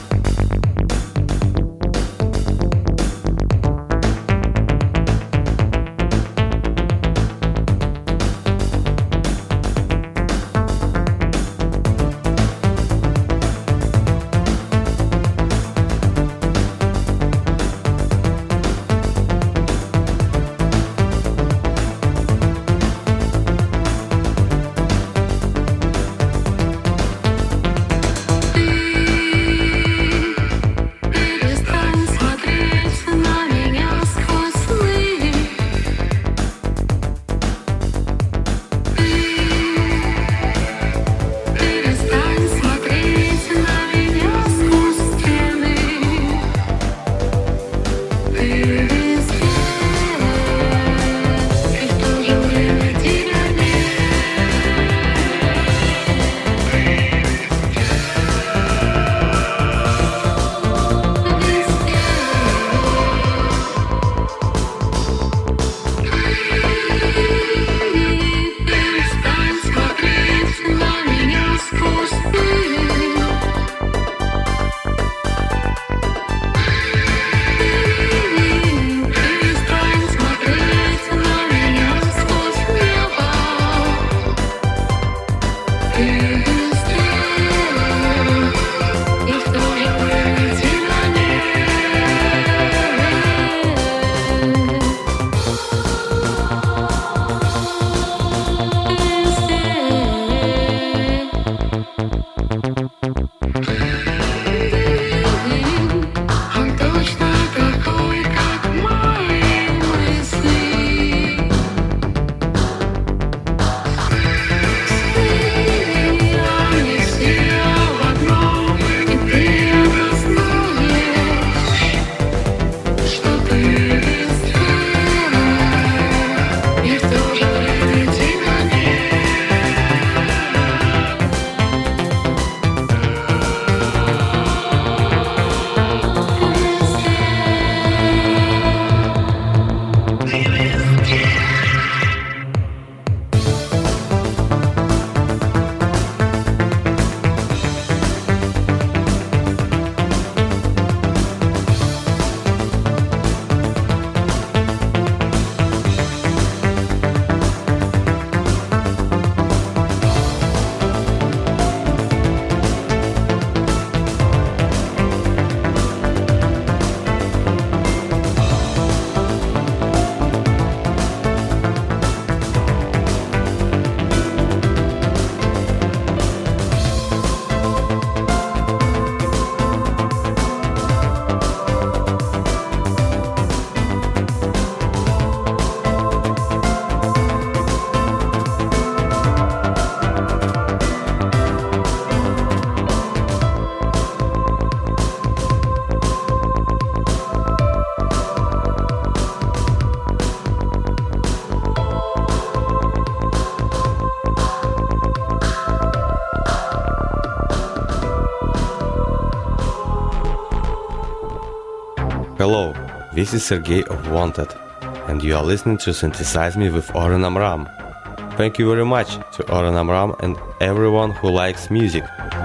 Hello, this is Sergey of Wanted, and you are listening to Synthesize Me with Oren Amram. Thank you very much to Oren Amram and everyone who likes music.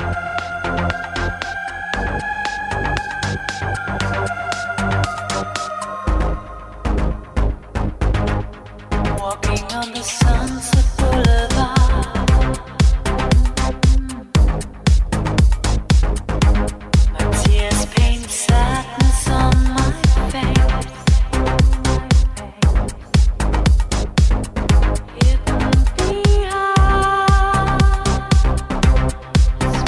Walking on the Sunset Boulevard, my tears paint sadness on my face. It can be hard,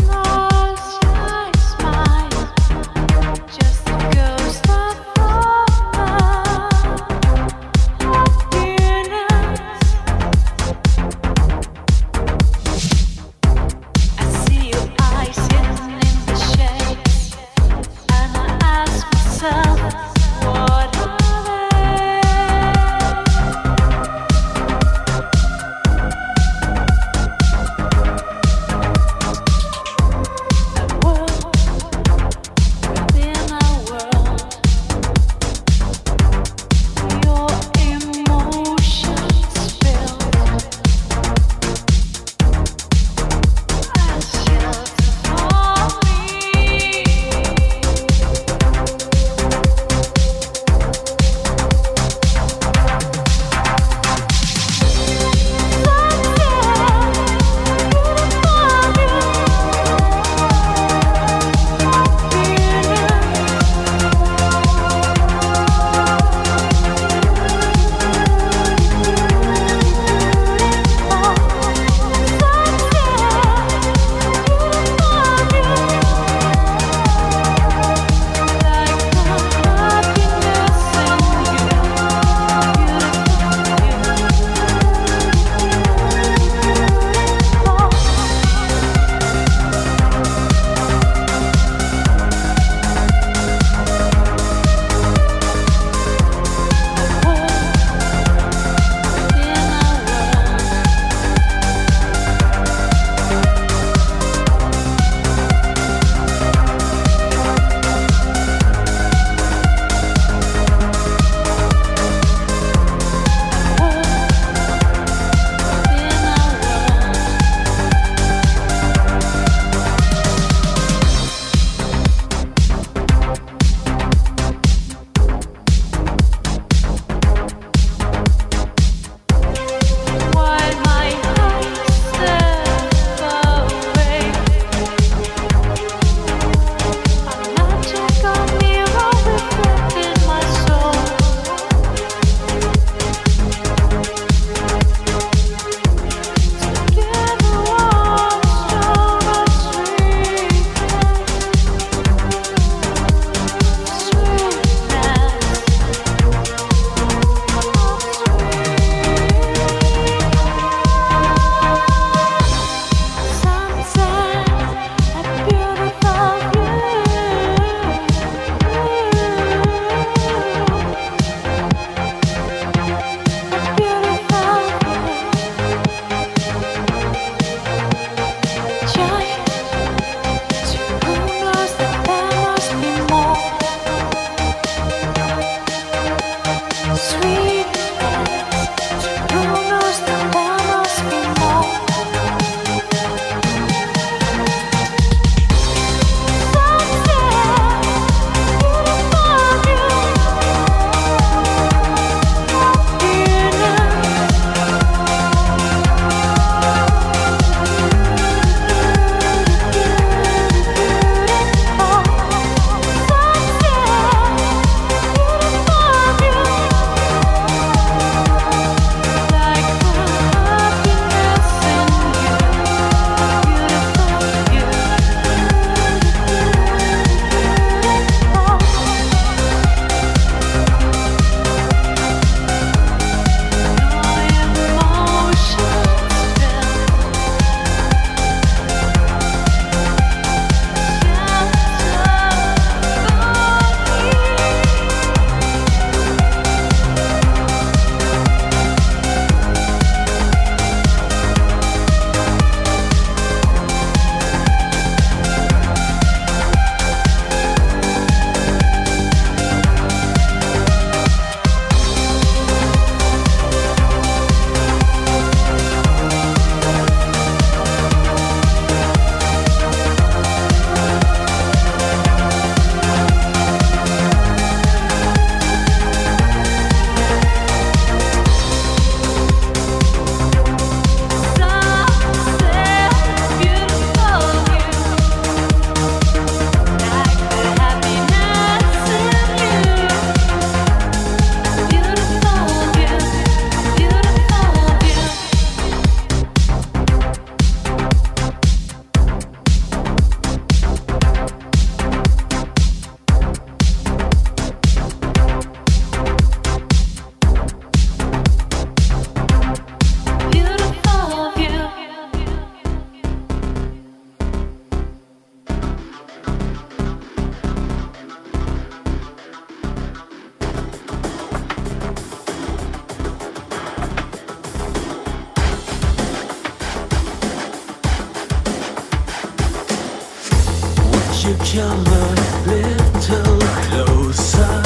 come a little closer.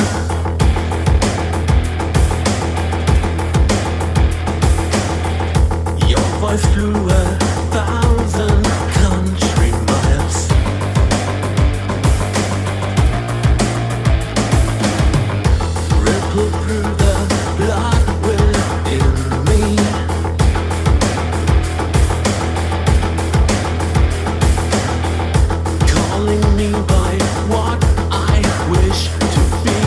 Your voice flew 1,000 country miles. Ripple through the blood within me. Calling me by what I wish to be.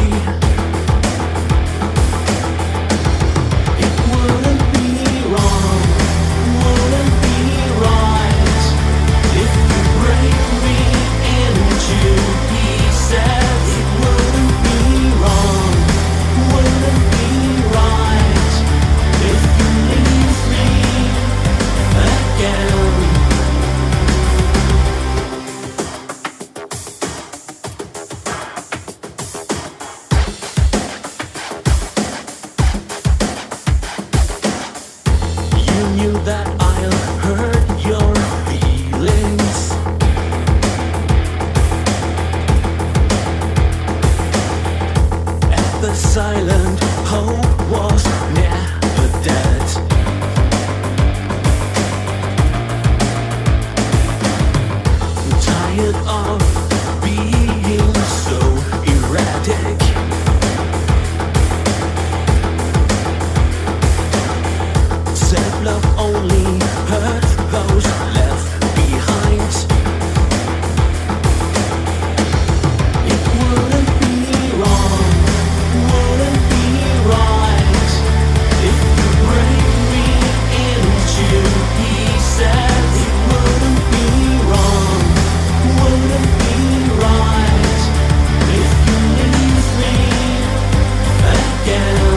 It wouldn't be wrong, wouldn't be right if you break me into pieces. It wouldn't be wrong, wouldn't be right if you leave me again. You knew that I'll hurt your feelings. And the silent hope was never dead. Tired of being so erratic. Self-love only hurt those left behind. It wouldn't be wrong, wouldn't be right if you break me into pieces. It wouldn't be wrong, wouldn't be right if you leave me again.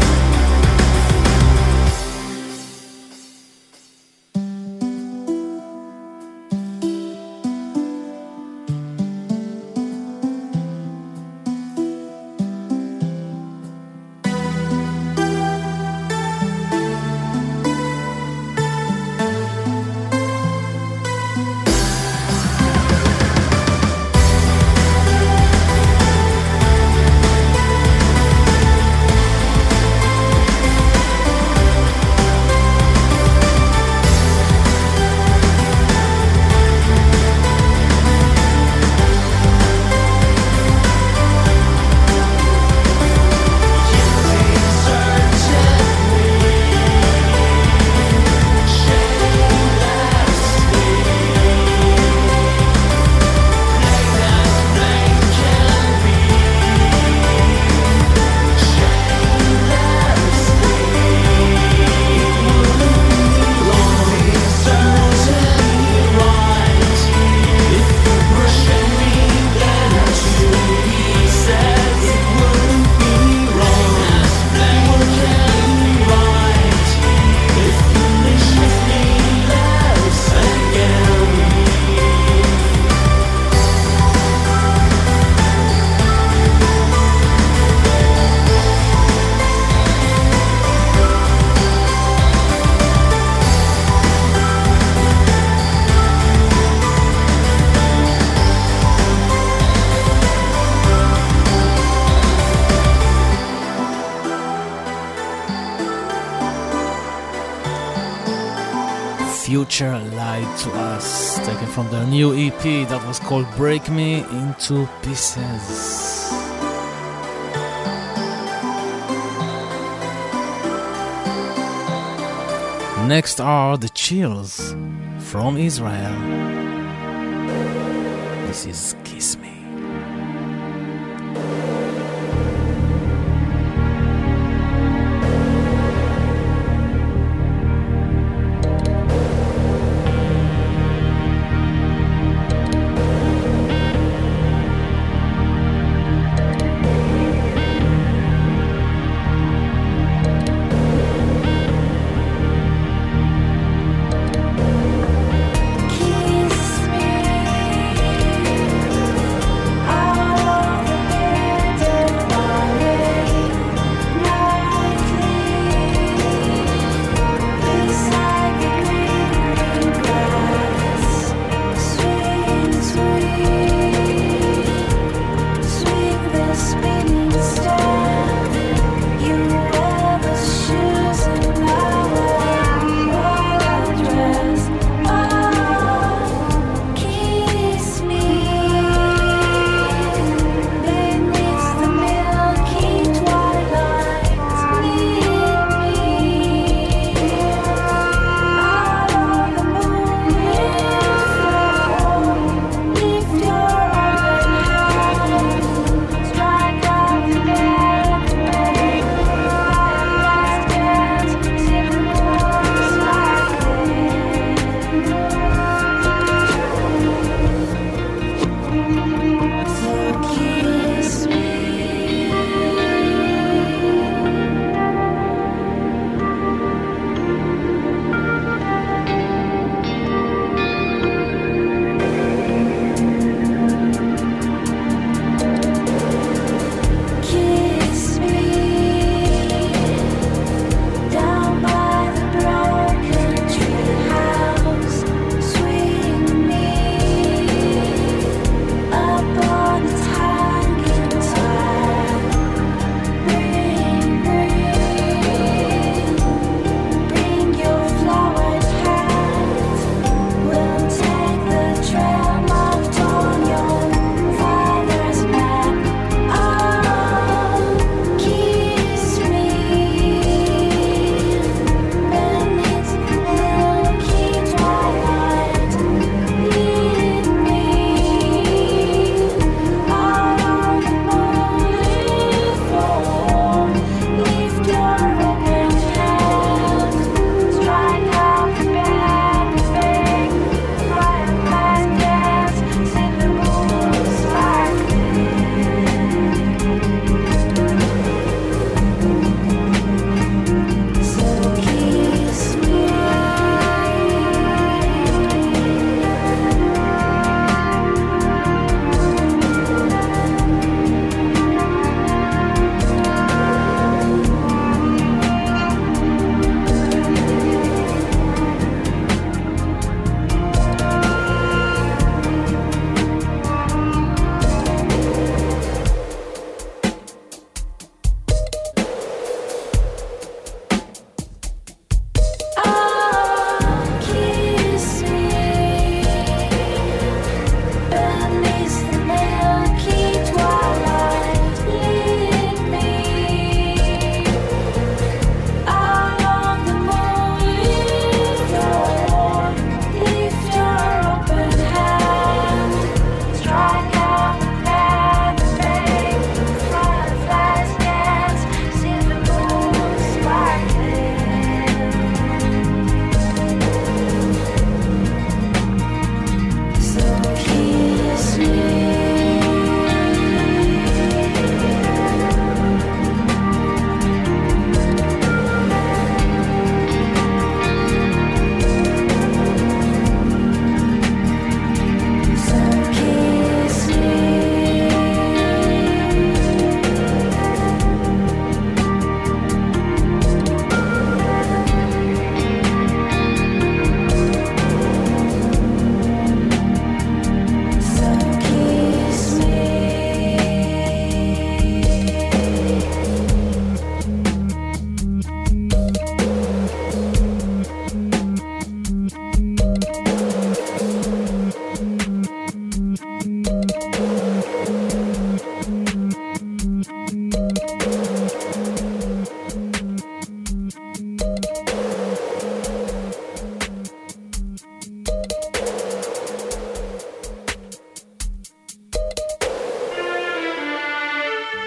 Future lied to us, taken from their new EP that was called Break Me Into Pieces. Next are the Chills from Israel. This is Kiss Me. Kiss me.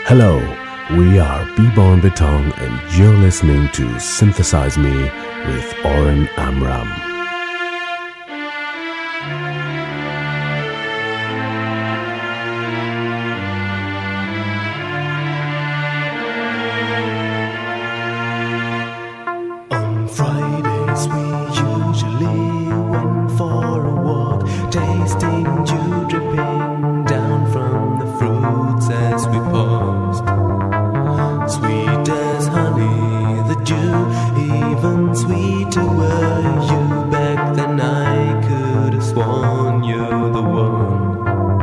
Hello, we are B-Born Beton and you're listening to Synthesize Me with Oren Amram. On Fridays we usually went for a walk, tasting dew dripping down from the fruits as we paused. Sweet as honey, the dew, even sweeter were you. Back then I could have sworn you're the one.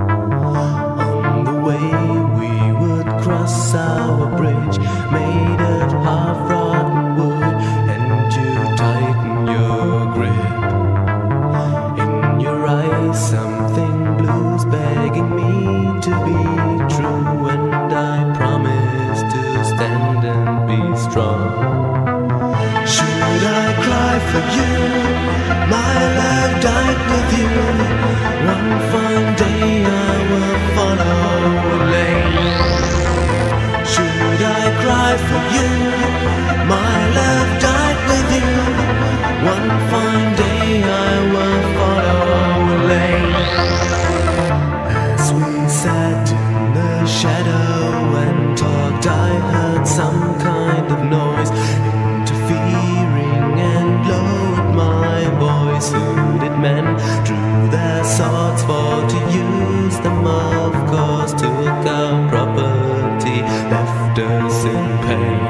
On the way we would cross our bridge, made of half-rotten wood, and you tighten your grip. In your eyes something blue's begging me to be true, and I promise to stand and be strong. Should I cry for you? My love died with you. One fine day I will follow a lane. Should I cry for you? My love died with you. One fine day I will follow a lane. As we sat in the shadow and talked, I heard some kind of noise interfering and lowered my voice. Hooded men drew their swords for to use them, of course, took our property, left us in pain.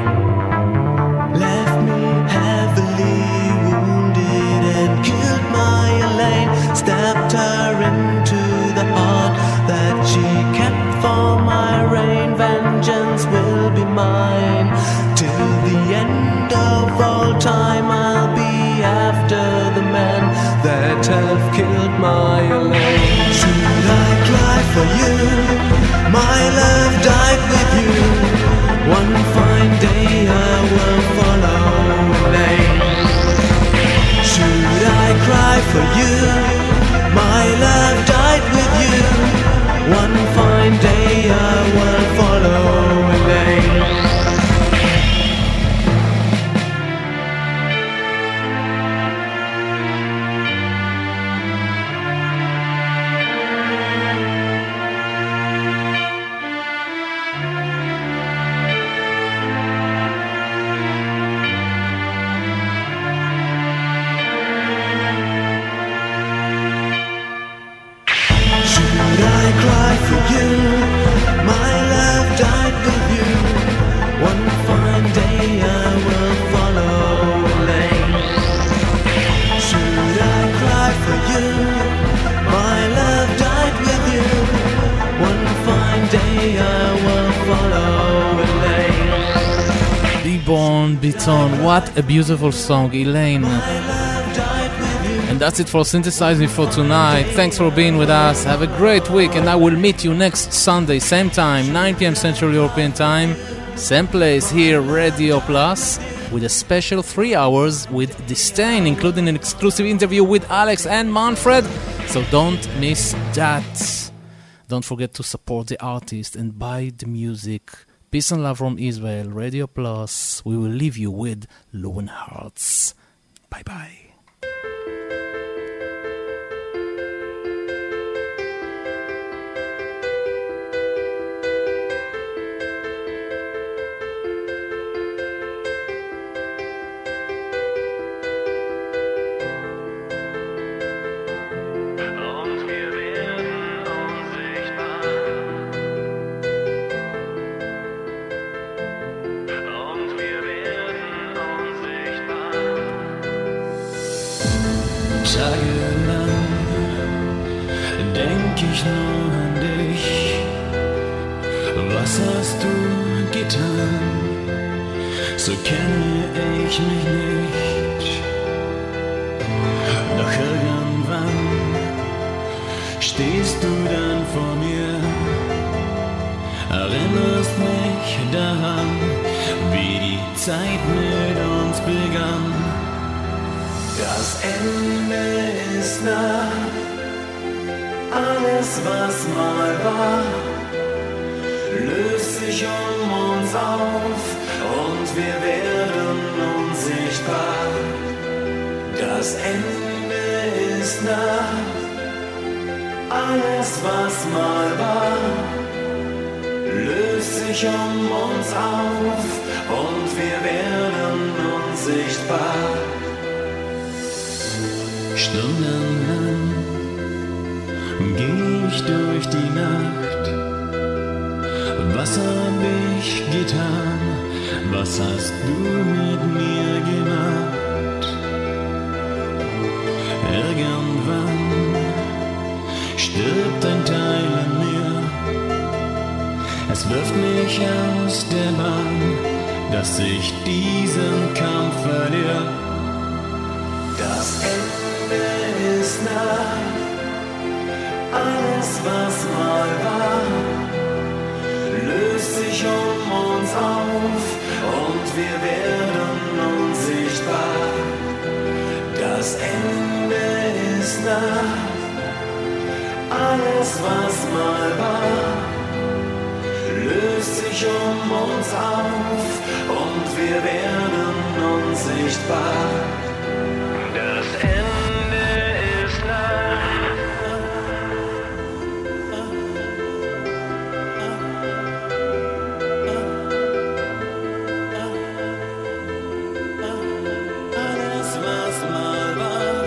Left me heavily wounded and killed my Elaine. Stabbed her into the heart that she kept for my reign. Vengeance will be mine. Till the end of all time I'll be after the men that have killed my Elaine. Should I cry for you? My love died with you. One fine day I will follow Elaine. Should I cry for you? My love died with you. One fine day I will follow Elaine. What a beautiful song, Elaine. And that's it for Synthesize Me for tonight. Thanks for being with us. Have a great week, and I will meet you next Sunday, same time, 9 p.m. Central European Time, same place here, Radio Plus, with a special 3 hours with Disdain, including an exclusive interview with Alex and Manfred. So don't miss that. Don't forget to support the artist and buy the music. Peace and love from Israel, Radio Plus. We will leave you with Lone Hearts. Bye-bye. Tagelang denk ich nur an dich. Was hast du getan? So kenne ich mich nicht. Doch irgendwann stehst du dann vor mir, erinnerst mich daran, wie die Zeit mit uns begann. Das Ende ist nah, alles was mal war, löst sich sich um uns auf und wir werden unsichtbar. Das Ende ist nah, alles was mal war, löst sich um uns auf und wir werden unsichtbar. Stundenlang geh ich durch die Nacht. Was hab ich getan? Was hast du mit mir gemacht? Irgendwann stirbt ein Teil in mir. Es wirft mich aus der Bahn, dass ich diesen Kampf verliere. Das Ende ist nah, alles was mal war, löst sich um uns auf und wir werden unsichtbar. Das Ende ist nah, alles was mal war, löst sich um uns auf und wir werden unsichtbar. Das Ende ist nah. Alles was mal war,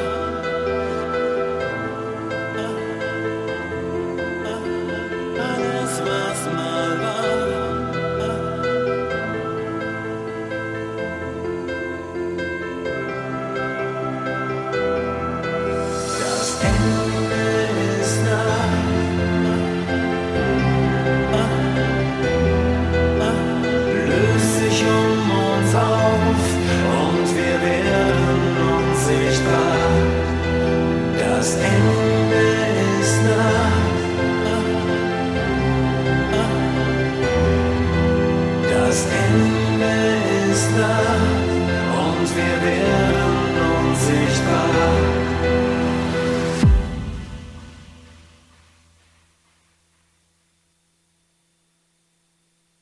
alles was mal war. Das Ende ist nah. Löst sich um uns auf und wir werden unsichtbar. Das Ende ist nah. Das Ende